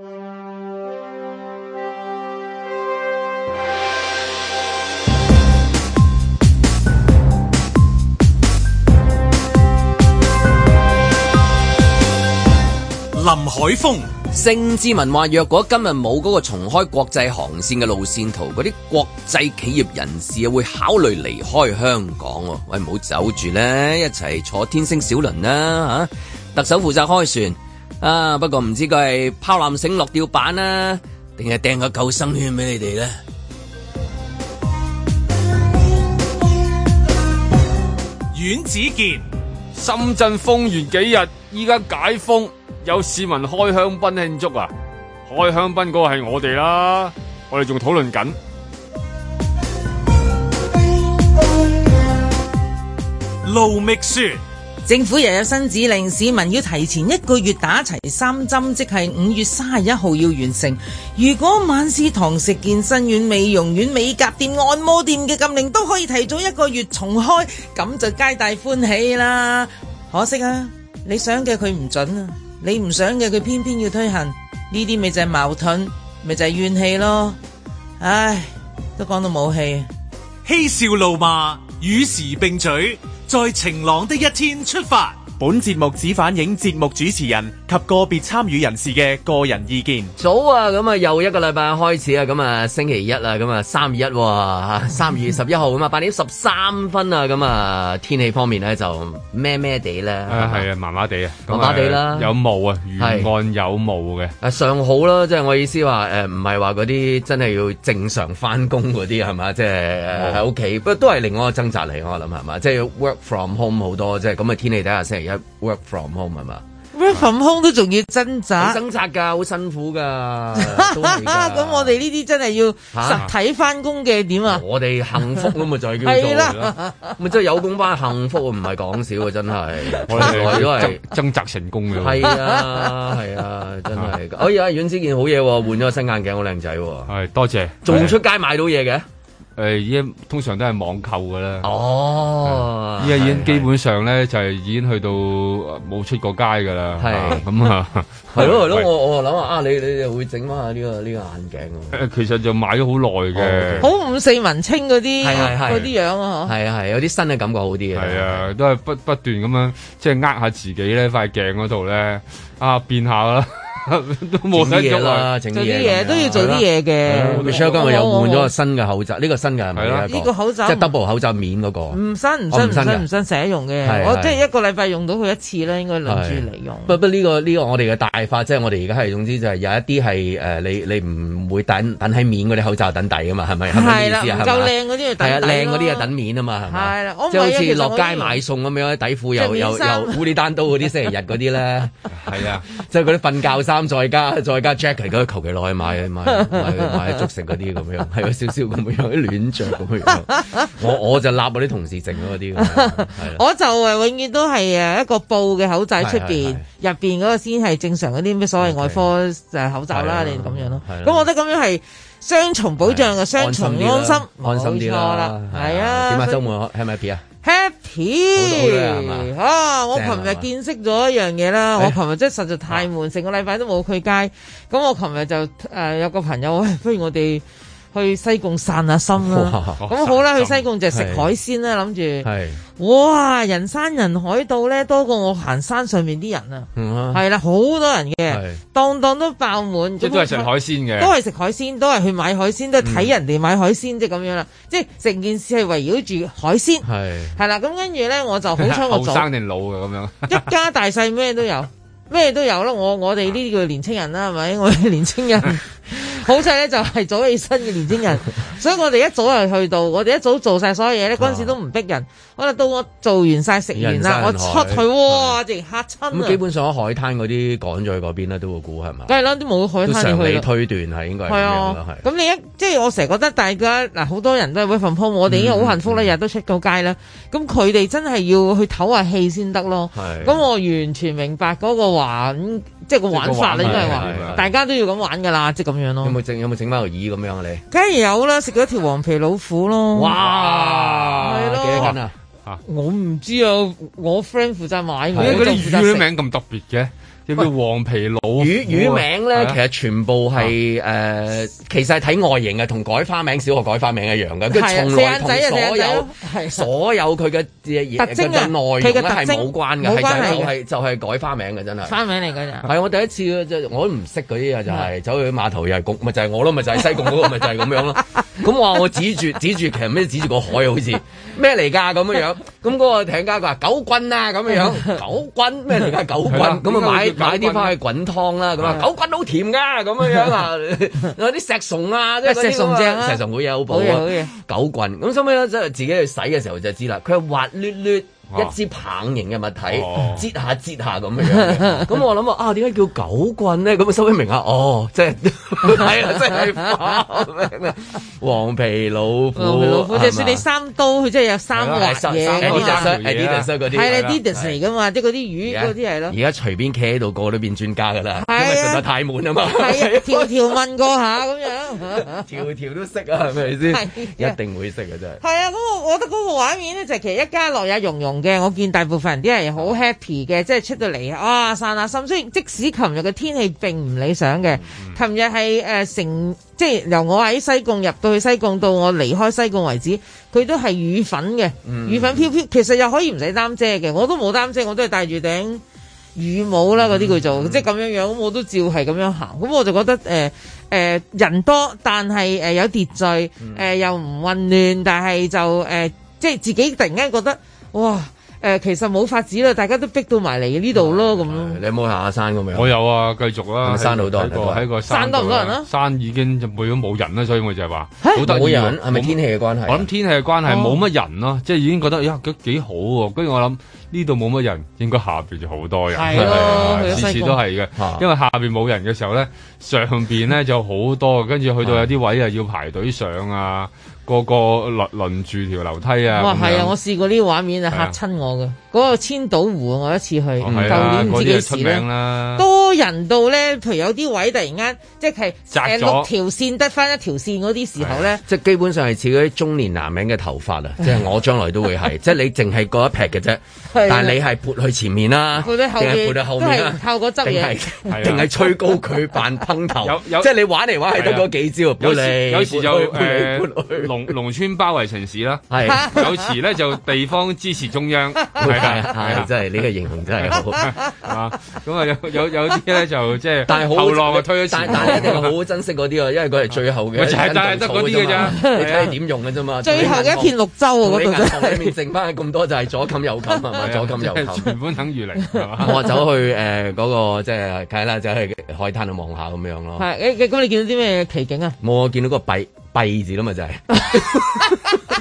林海峰、 盛智文話：若果今日冇嗰個重開國際航線嘅路線圖，嗰啲國際企業人士啊會考慮離開香港。喂，唔好走住咧，一齊坐天星小輪啦嚇！特首負責開船啊，不過唔知佢係拋纜繩落吊板啦，定係掟個救生圈俾你哋咧？ 阮子健， 深圳封完幾日，依家解封。有市民開香檳慶祝啊！開香檳嗰個係我哋啦，我哋仲討論緊。 盧覓雪， 政府又有新指令，市民要提前1個月打齊3針，即係5月31號要完成。如果晚市堂食、健身院、美容院、美甲店、按摩店嘅禁令都可以提早1個月重開，咁就皆大歡喜啦。可惜啊，你想嘅佢唔準啊！你唔想嘅佢偏偏要推行，呢啲咪就係矛盾，咪就係怨氣咯。唉，都講到冇氣。 嬉笑怒罵與時並舉，在晴朗的一天出發。 本節目只反映節目主持人及個別參與人士嘅個人意見。 早啊，咁啊又一個禮拜開始啊，咁啊星期一啦，咁啊3月1喎，3月11號咁啊8點13分啊，咁啊天氣方面咧就咩咩地咧， 係啊麻麻地啊， 麻麻地啦， 有霧啊，沿岸有霧嘅。 尚好啦，即係我意思話唔係話嗰啲真係要正常翻工嗰啲係嘛，即係喺屋企，不過都係另外一個掙扎嚟，我諗係嘛，即係 work from home 好多，即係咁嘅天氣底下星期一 work from home 係嘛？ work from home 都仲要掙扎， 掙扎㗎，好辛苦㗎。 咁我哋呢啲真係要實體翻工嘅點啊？ 我哋幸福咁咪就係叫做啦，咪真係有工翻幸福，唔係講笑啊！真係， 我哋都係掙扎成功嘅。 係啊，係啊，真係。哎呀，阮子健好嘢喎，換咗個新眼鏡，好靚仔喎。 係，多謝。 仲出街買到嘢嘅？ 已經通常都係網購㗎啦。 哦， 依家已經基本上咧就係已經去到冇出過街㗎啦。 係咁啊， 係咯，我諗啊，你哋會整翻下呢個眼鏡？ 其實就買咗好耐嘅， 好五四文青嗰啲嗰啲樣啊， 係有啲新嘅感覺好啲嘅。 係啊，都係不斷咁樣即係呃下自己咧，塊鏡嗰度咧變下啦。都冇得喐啦， 整啲嘢都要做啲嘢嘅。 Michelle 今日又換咗個新嘅口罩，呢個新嘅係咪呢個口罩即係 double 口罩面嗰個？ 唔新成日用嘅。我即係1個禮拜用到佢1次啦，應該輪住嚟用。 不過呢個我哋嘅大法，即係我哋而家係總之就係有一啲係你唔會等喺面嗰啲口罩等底㗎嘛，係咪？ 係啦，唔夠靚嗰啲就等底咯。 靚嗰啲就等面啊嘛，係咪？ 係啦， 即係好似落街買餸咁樣，底褲又烏里單刀嗰啲星期日嗰啲咧，係啊，即係嗰啲瞓覺衫。 衫再加 jacket 嗰求其落去買粥食嗰啲咁樣，係有少少咁樣啲亂着咁樣。我就立我啲同事剩嗰啲， 我就永遠都係一個布嘅口罩出邊，入邊嗰個先係正常嗰啲咩所謂外科口罩啦，你咁樣咯。咁我覺得咁樣係雙重保障嘅，雙重安心啲啦。 係啊， 點解週末 happy 啊？ Happy 我琴日見識咗一樣嘢啦，我琴日真係實在太悶，成個禮拜都冇去街。咁我琴日就有個朋友，不如我哋去西貢散下心啦。咁好啦，去西貢就食海鮮啦，諗住。哇！人山人海到咧，多過我行山上面啲人啊。係啦，好多人嘅，檔檔都爆滿。 即係都係食海鮮嘅， 都係食海鮮，都係去買海鮮，都係睇人哋買海鮮，即係咁樣啦。即係成件事係圍繞住海鮮。係啦，咁跟住咧，我就好彩我後生定老嘅咁樣， 一家大細咩都有。咩都有啦，我哋呢啲叫年青人啦，係咪？我哋年青人好彩咧，就係早起身嘅年青人，所以我哋一早就去到，我哋一早做晒所有嘢咧，嗰陣時都唔逼人。可能到我做完晒食完啦，我出去哇，直嚇親啊！ 咁基本上海灘嗰啲趕咗去嗰邊咧，都會估係嘛？ 梗係啦，都冇海灘去啦。 常理推斷係應該係咁樣啦，係。 咁你即係我成日覺得大家嗱，好多人都係 work from home，我哋已經好幸福啦，日日都出到街啦。咁佢哋真係要去唞下氣先得咯。咁我完全明白嗰個玩，即係個玩法啦，應該係話大家都要咁玩㗎啦，即係咁樣咯。 有冇整翻個耳咁樣啊？你梗係有啦，食咗條黃皮老虎咯。 哇！係咯，幾多斤啊？ 我唔知啊，我 friend 負責買， 嗰啲魚名咁特別嘅。叫黃皮老虎魚名咧，其實全部係其實係睇外形嘅，同改花名小學改花名一樣嘅，佢從來同所有佢嘅特徵嘅內容咧係冇關嘅，就係改花名嘅，真係花名嚟㗎咋。 係我第一次我都唔識嗰啲啊，就係走去碼頭又係焗，咪就係我咯，咪就係西貢嗰個，咪就係咁樣咯。咁我指住其實咩指住個海好似咩嚟㗎咁樣，咁嗰個艇家佢話狗棍啊咁樣，狗棍咩嚟㗎狗棍，咁啊買啲翻去滾湯啦，咁啊狗棍好甜㗎，咁樣啊，有啲石松啊，即係石松正啊，石松好嘢好補啊，狗棍咁收尾咧，即係自己去洗嘅時候就知啦，佢係滑捋捋。一支棒形嘅物體，擠下咁樣。咁我諗啊，點解叫狗棍咧？咁啊，收尾明下，即係係啊，真係花名啊！黃皮老虎， 就算你三刀，佢真係有三滑嘢。 Adidas 嗰啲係 Adidas 嚟噶嘛？即係嗰啲魚嗰啲係咯。 而家隨便企喺度，個個都變專家噶啦，因為實在太悶啊嘛。 係條問過下咁樣， 條都識啊，係咪先？一定會識嘅真係。係啊，咁我覺得嗰個畫面咧，就其實一家樂也融融。嘅，我見大部分人啲人好 happy 嘅，即係出到嚟啊散下心。雖然即使琴日嘅天氣並唔理想嘅，琴日係即係由我喺西貢入到去西貢到我離開西貢為止，佢都係雨粉嘅，雨粉飄飄。其實又可以唔使擔遮嘅，我都冇擔遮，我都係戴住頂雨帽啦，嗰啲叫做即係咁樣樣，咁我都照係咁樣行。咁我就覺得人多，但係有秩序，又唔混亂，但係就即係自己突然間覺得哇！其實冇法子啦，大家都逼到埋嚟呢度咯，咁咯。 你有冇行下山咁樣？ 我有啊，繼續啦。 山好多人喺個山多唔多人啊？ 山已經就冇人啦，所以我就係話冇人係咪天氣嘅關係？ 我諗天氣嘅關係冇乜人咯，即係已經覺得呀幾好喎。跟住我諗呢度冇乜人，應該下邊就好多人。係咯，次次都係嘅。因為下邊冇人嘅時候咧，上邊咧就好多，跟住去到有啲位啊要排隊上啊。個輪住條樓梯啊！ 哇，係啊！我試過呢個畫面啊，嚇親我嘅。嗰個千島湖我一次去，舊年唔知幾時咧，多人到咧，譬如有啲位突然間即係6條線得翻一條線嗰啲時候咧， 即係基本上係似嗰啲中年男人嘅頭髮啊！即係我將來都會係，即係你淨係嗰一撇嘅啫，但係你係撥去前面啦，定係撥去後面啦， 靠嗰執嘢， 定係吹高佢扮烹頭，即係你玩嚟玩係得嗰幾招， 有時就農村包圍城市啦，有時咧就地方支持中央， 係真係呢個形容真係好啊！咁啊有啲咧就即係後浪啊推咗前， 但係一定好好珍惜嗰啲啊，因為佢係最後嘅， 就係得嗰啲嘅啫， 你睇你點用嘅啫嘛。 最後嘅一片綠洲啊，嗰度真係裏面剩翻咁多就係左冚右冚係嘛，左冚右冚， 全本等於零。 我走去嗰個即係睇啦，走去海灘度望下咁樣咯。 係咁你見到啲咩奇景啊？ 冇，我見到個幣字啦嘛，就係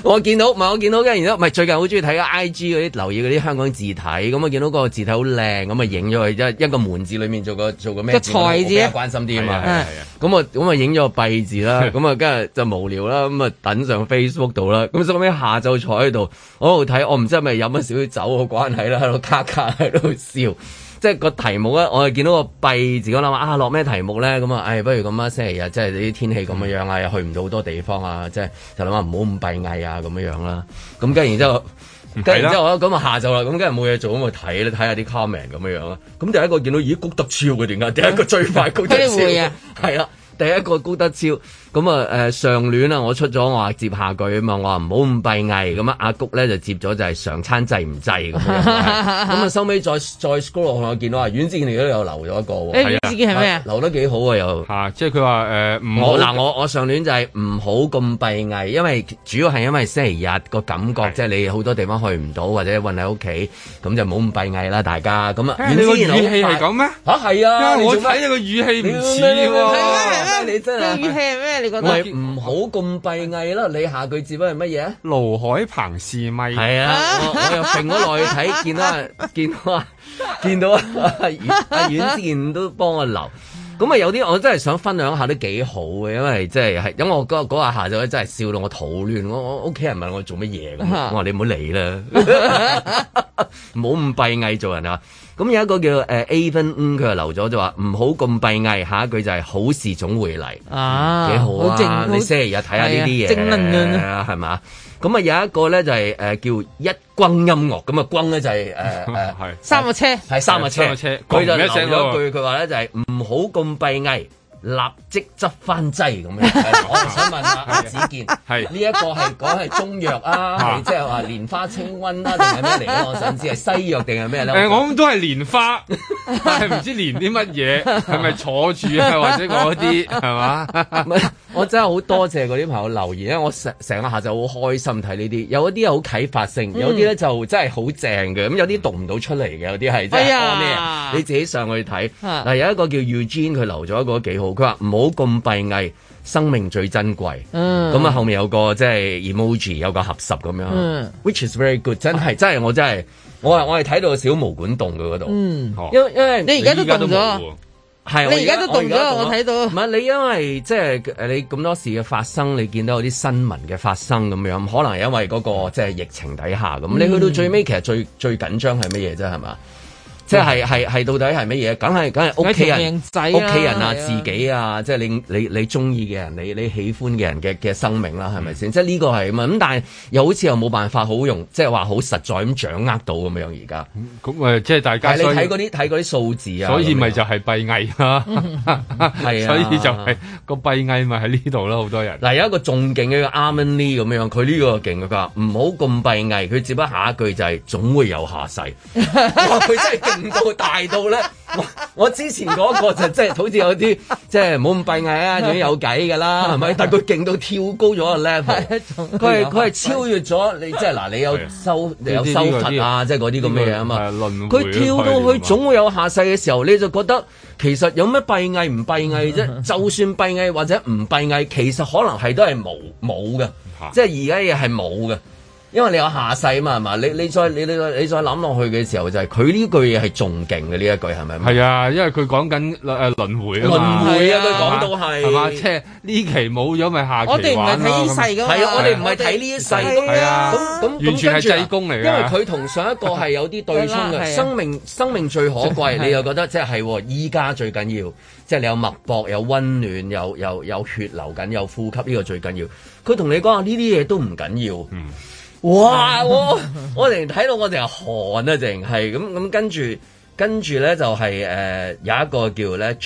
我見到，跟住然之後，最近好中意睇 IG 嗰啲，留意嗰啲香港字體，咁我見到個字體好靚，咁啊影咗佢一個門字裏面做個咩字？個財字，關心啲啊嘛。咁啊影咗個幣字啦，咁啊跟住就無聊啦，咁啊等上 Facebook 度啦，咁收尾下晝坐喺度，我喺度睇，我唔知係咪飲咗少少酒嘅關係啦，喺度卡喺度笑。即係個題目咧，我係見到個幣字，我諗啊落咩題目咧？咁啊，不如咁啊，星期日即係啲天氣咁樣啊，又去唔到好多地方啊，即係就諗下唔好咁閉翳啊咁樣啦。咁跟住然之後，咁啊下晝啦，咁跟住冇嘢做咁去睇下啲 comment 咁樣啦。咁第一個見到咦谷德超嘅點解？第一個最快谷德超係啦，第一個谷德超。咁啊上聯啊，我出咗我話接下句啊嘛，我話唔好咁閉翳，咁啊阿谷咧就接咗就係常餐制唔制咁樣，咁啊收尾再 scroll 落去，我見到啊阮志健嚟都有留咗一個喎， 阮志健係咩啊？ 留得幾好啊又即係佢話唔好我上聯就係唔好咁閉翳，因為主要係因為星期日個感覺，即係你好多地方去唔到或者韞喺屋企，咁就唔好咁閉翳啦，大家咁啊。 你個語氣係咁咩？ 係啊， 我睇你個語氣唔似喎， 你真係語氣係咩？你覺得？ 唔好咁閉翳啦！你下句接係乜嘢啊？ 盧海鵬試咪係啊！我又揈咗落去睇，見到阿阮之健都幫我留。咁啊有啲我真係想分享下都幾好嘅，因為即係因為我嗰日下晝真係笑到我肚亂，我屋企人問我做乜嘢咁，我話你唔好理啦，唔好咁閉翳做人啊！咁有一個叫Avon，佢又留咗就話唔好咁閉翳，下一句就係好事總會嚟啊，幾好啊！你星期日睇下呢啲嘢，正能量啊，係嘛？咁啊有一個咧就係叫一轟音樂，咁啊轟咧就係三個車， 係三個車，佢就留咗一句，佢話咧就係唔好咁閉翳。立即執翻劑咁樣，我就想問下阿子健，呢一個係講係中藥啊，係即係話蓮花清瘟啊，定係咩嚟咧？我想知係西藥定係咩咧？ 我諗都係蓮花，但係唔知蓮啲乜嘢，係咪坐住啊，或者嗰啲係嘛？ 我真係好多謝嗰啲朋友留言，因為我成個下晝好開心睇呢啲，有一啲係好啟發性，有啲咧就真係好正嘅，咁有啲讀唔到出嚟嘅，有啲係真係咩？你自己上去睇。嗱，有一個叫 Eugene，佢留咗一個幾好。佢話唔好咁閉翳，生命最珍貴。咁啊後面有個即係 emoji， 有個合十咁樣。Which is very good， 真係我係睇到小毛管動嘅嗰度。因為你而家都動咗， 係你而家都動咗，我睇到。 唔係你因為即係你咁多事嘅發生，你見到有啲新聞嘅發生咁樣，可能係因為嗰個即係疫情底下咁。你去到最尾，其實最緊張係乜嘢啫？係嘛？即係到底係乜嘢？梗係屋企人啊，自己啊，即係你中意嘅人，你喜歡嘅人嘅生命啦，係咪先？即係呢個係咁但係又好似又冇辦法好用，即係話好實在咁掌握到咁樣而家。 咁即係大家。 但係你睇嗰啲數字啊， 所以咪就係閉翳啦。 係啊， 所以就係個閉翳咪喺呢度咯，好多人。 嗱有一個仲勁嘅 Armin Lee 咁樣，佢呢個勁佢話唔好咁閉翳，佢接不下一句就係總會有下世。哇！佢真係勁到大到咧，我之前嗰個就即係好似有啲即係唔好咁閉翳啊，總之有計㗎啦，係咪？但係佢勁到跳高咗個 level，佢係超越咗你，即係嗱，你有修佛啊，即係嗰啲咁嘅嘢啊嘛。佢跳到去總會有下世嘅時候，你就覺得其實有咩閉翳唔閉翳啫？就算閉翳或者唔閉翳，其實可能係都係冇嘅，即係而家嘢係冇嘅。因為你有下世啊嘛，係嘛？你再諗落去嘅時候，就係佢呢句嘢係仲勁嘅呢一句係咪？ 係啊，因為佢講緊輪迴啊嘛。 輪迴啊，佢講到係嘛？即係呢期冇咗咪下期玩咯。 我哋唔係睇呢世㗎嘛。 係啊，我哋唔係睇呢一世。 係啊，咁完全係濟公嚟㗎。 因為佢同上一個係有啲對沖嘅。生命最可貴，你又覺得即係依家最緊要，即係你有脈搏、有溫暖、有血流緊、有呼吸，呢個最緊要。佢同你講話呢啲嘢都唔緊要。哇！我哋睇到我哋係寒啊，淨係咁跟住咧就係有一個叫咧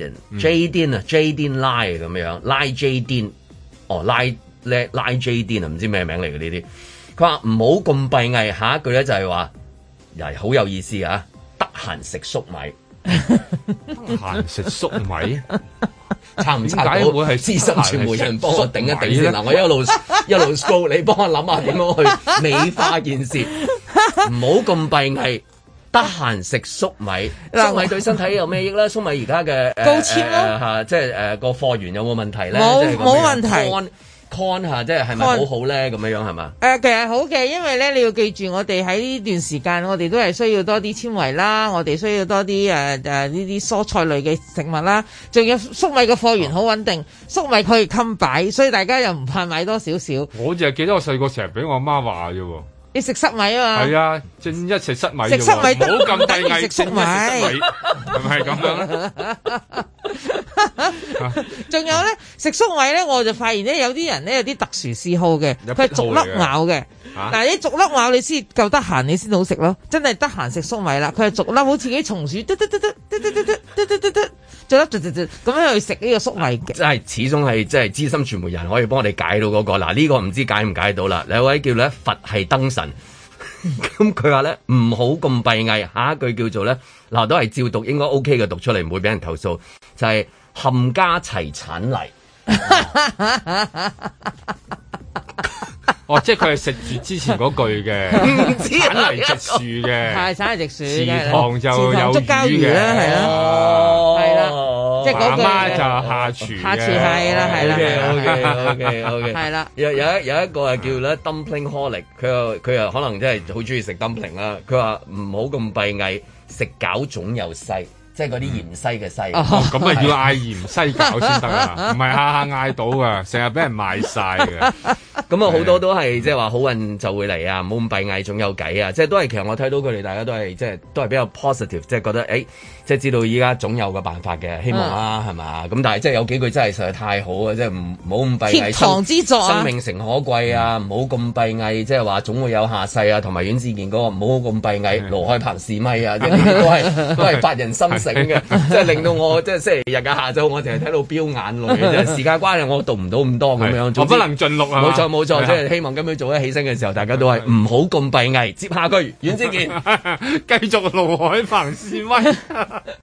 Jaden 啊 Jaden Lai 咁樣 Lai Jaden 拉 Jaden 啊，唔知咩名嚟嘅呢啲。佢話唔好咁閉翳，下一句咧就係話又係好有意思啊！得閒食粟米， 得閒食粟米。 差唔差到？會係資深傳媒人幫我頂一頂先嗱，我一路 scroll， 你幫我諗下點樣去美化件事，唔好咁閉翳。得閒食粟米，粟米對身體有咩益咧？粟米而家嘅高纖咯， 即係個貨源有冇問題咧？ 冇問題。 con 下，即係咪好好咧？咁樣係嘛？ 其實好嘅，因為咧你要記住，我哋喺呢段時間，我哋都係需要多啲纖維啦，我哋需要多啲呢啲蔬菜類嘅食物啦，仲有粟米嘅貨源好穩定，粟米可以襟擺，所以大家又唔怕買多少少。 我就係記得我細個成日俾我媽話啫喎。 你食塞米啊嘛？ 係啊，正一食塞米， 食塞米唔好咁低翳， 食粟米係咪咁樣咧？ 仲有咧，食粟米咧，我就發現咧，有啲人咧有啲特殊嗜好嘅，佢係逐粒咬嘅。嗱，你逐粒咬你先夠得閒，你先好食咯。真係得閒食粟米啦，佢係逐粒好似啲松鼠，逐粒咁樣去食呢個粟米嘅。 真係始終係即係資深傳媒人可以幫我哋解到嗰個。嗱，呢個唔知解唔解到啦。有位叫咧佛系燈神。咁佢話咧唔好咁閉翳，下一句叫做咧嗱都係照讀應該 OK 嘅，讀出嚟唔會俾人投訴，就係、是、冚家齊產泥。 哦，即係佢係食住之前嗰句嘅，產泥直樹嘅， 係產泥直樹嘅， 池塘就有竹膠魚啦，係啦，係啦，即係嗰句。媽媽就下廚，下廚係啦，係啦 ，OK，係啦。有一個係叫咧 dumpling holic， 佢又可能真係好中意食 dumpling 啦。佢話唔好咁閉翳，食餃總有西。即係嗰啲芫茜嘅西， 咁啊要嗌芫茜餃先得啊，唔係下下嗌到噶，成日俾人賣晒嘅。 咁啊好多都係即係話好運就會嚟啊，唔好咁閉翳，總有計啊！即係都係其實我睇到佢哋大家都係即係都係比較 positive，即係覺得即係知道依家總有個辦法嘅，希望啦係嘛？咁但係即係有幾句真係實在太好啊！即係唔好咁閉翳， 貼堂之作生命誠可貴啊！唔好咁閉翳，即係話總會有下世啊！同埋阮志健嗰個唔好咁閉翳，盧海鵬試咪啊！即係呢啲都係發人心醒嘅，即係令到我即係星期日嘅下晝，我淨係睇到飆眼淚嘅啫。時間關係，我讀唔到咁多咁樣， 我不能盡錄啊！ 冇錯，即係希望今日早一起身嘅時候，大家都係唔好咁閉翳。接下句，阮志健繼續盧海鵬試咪。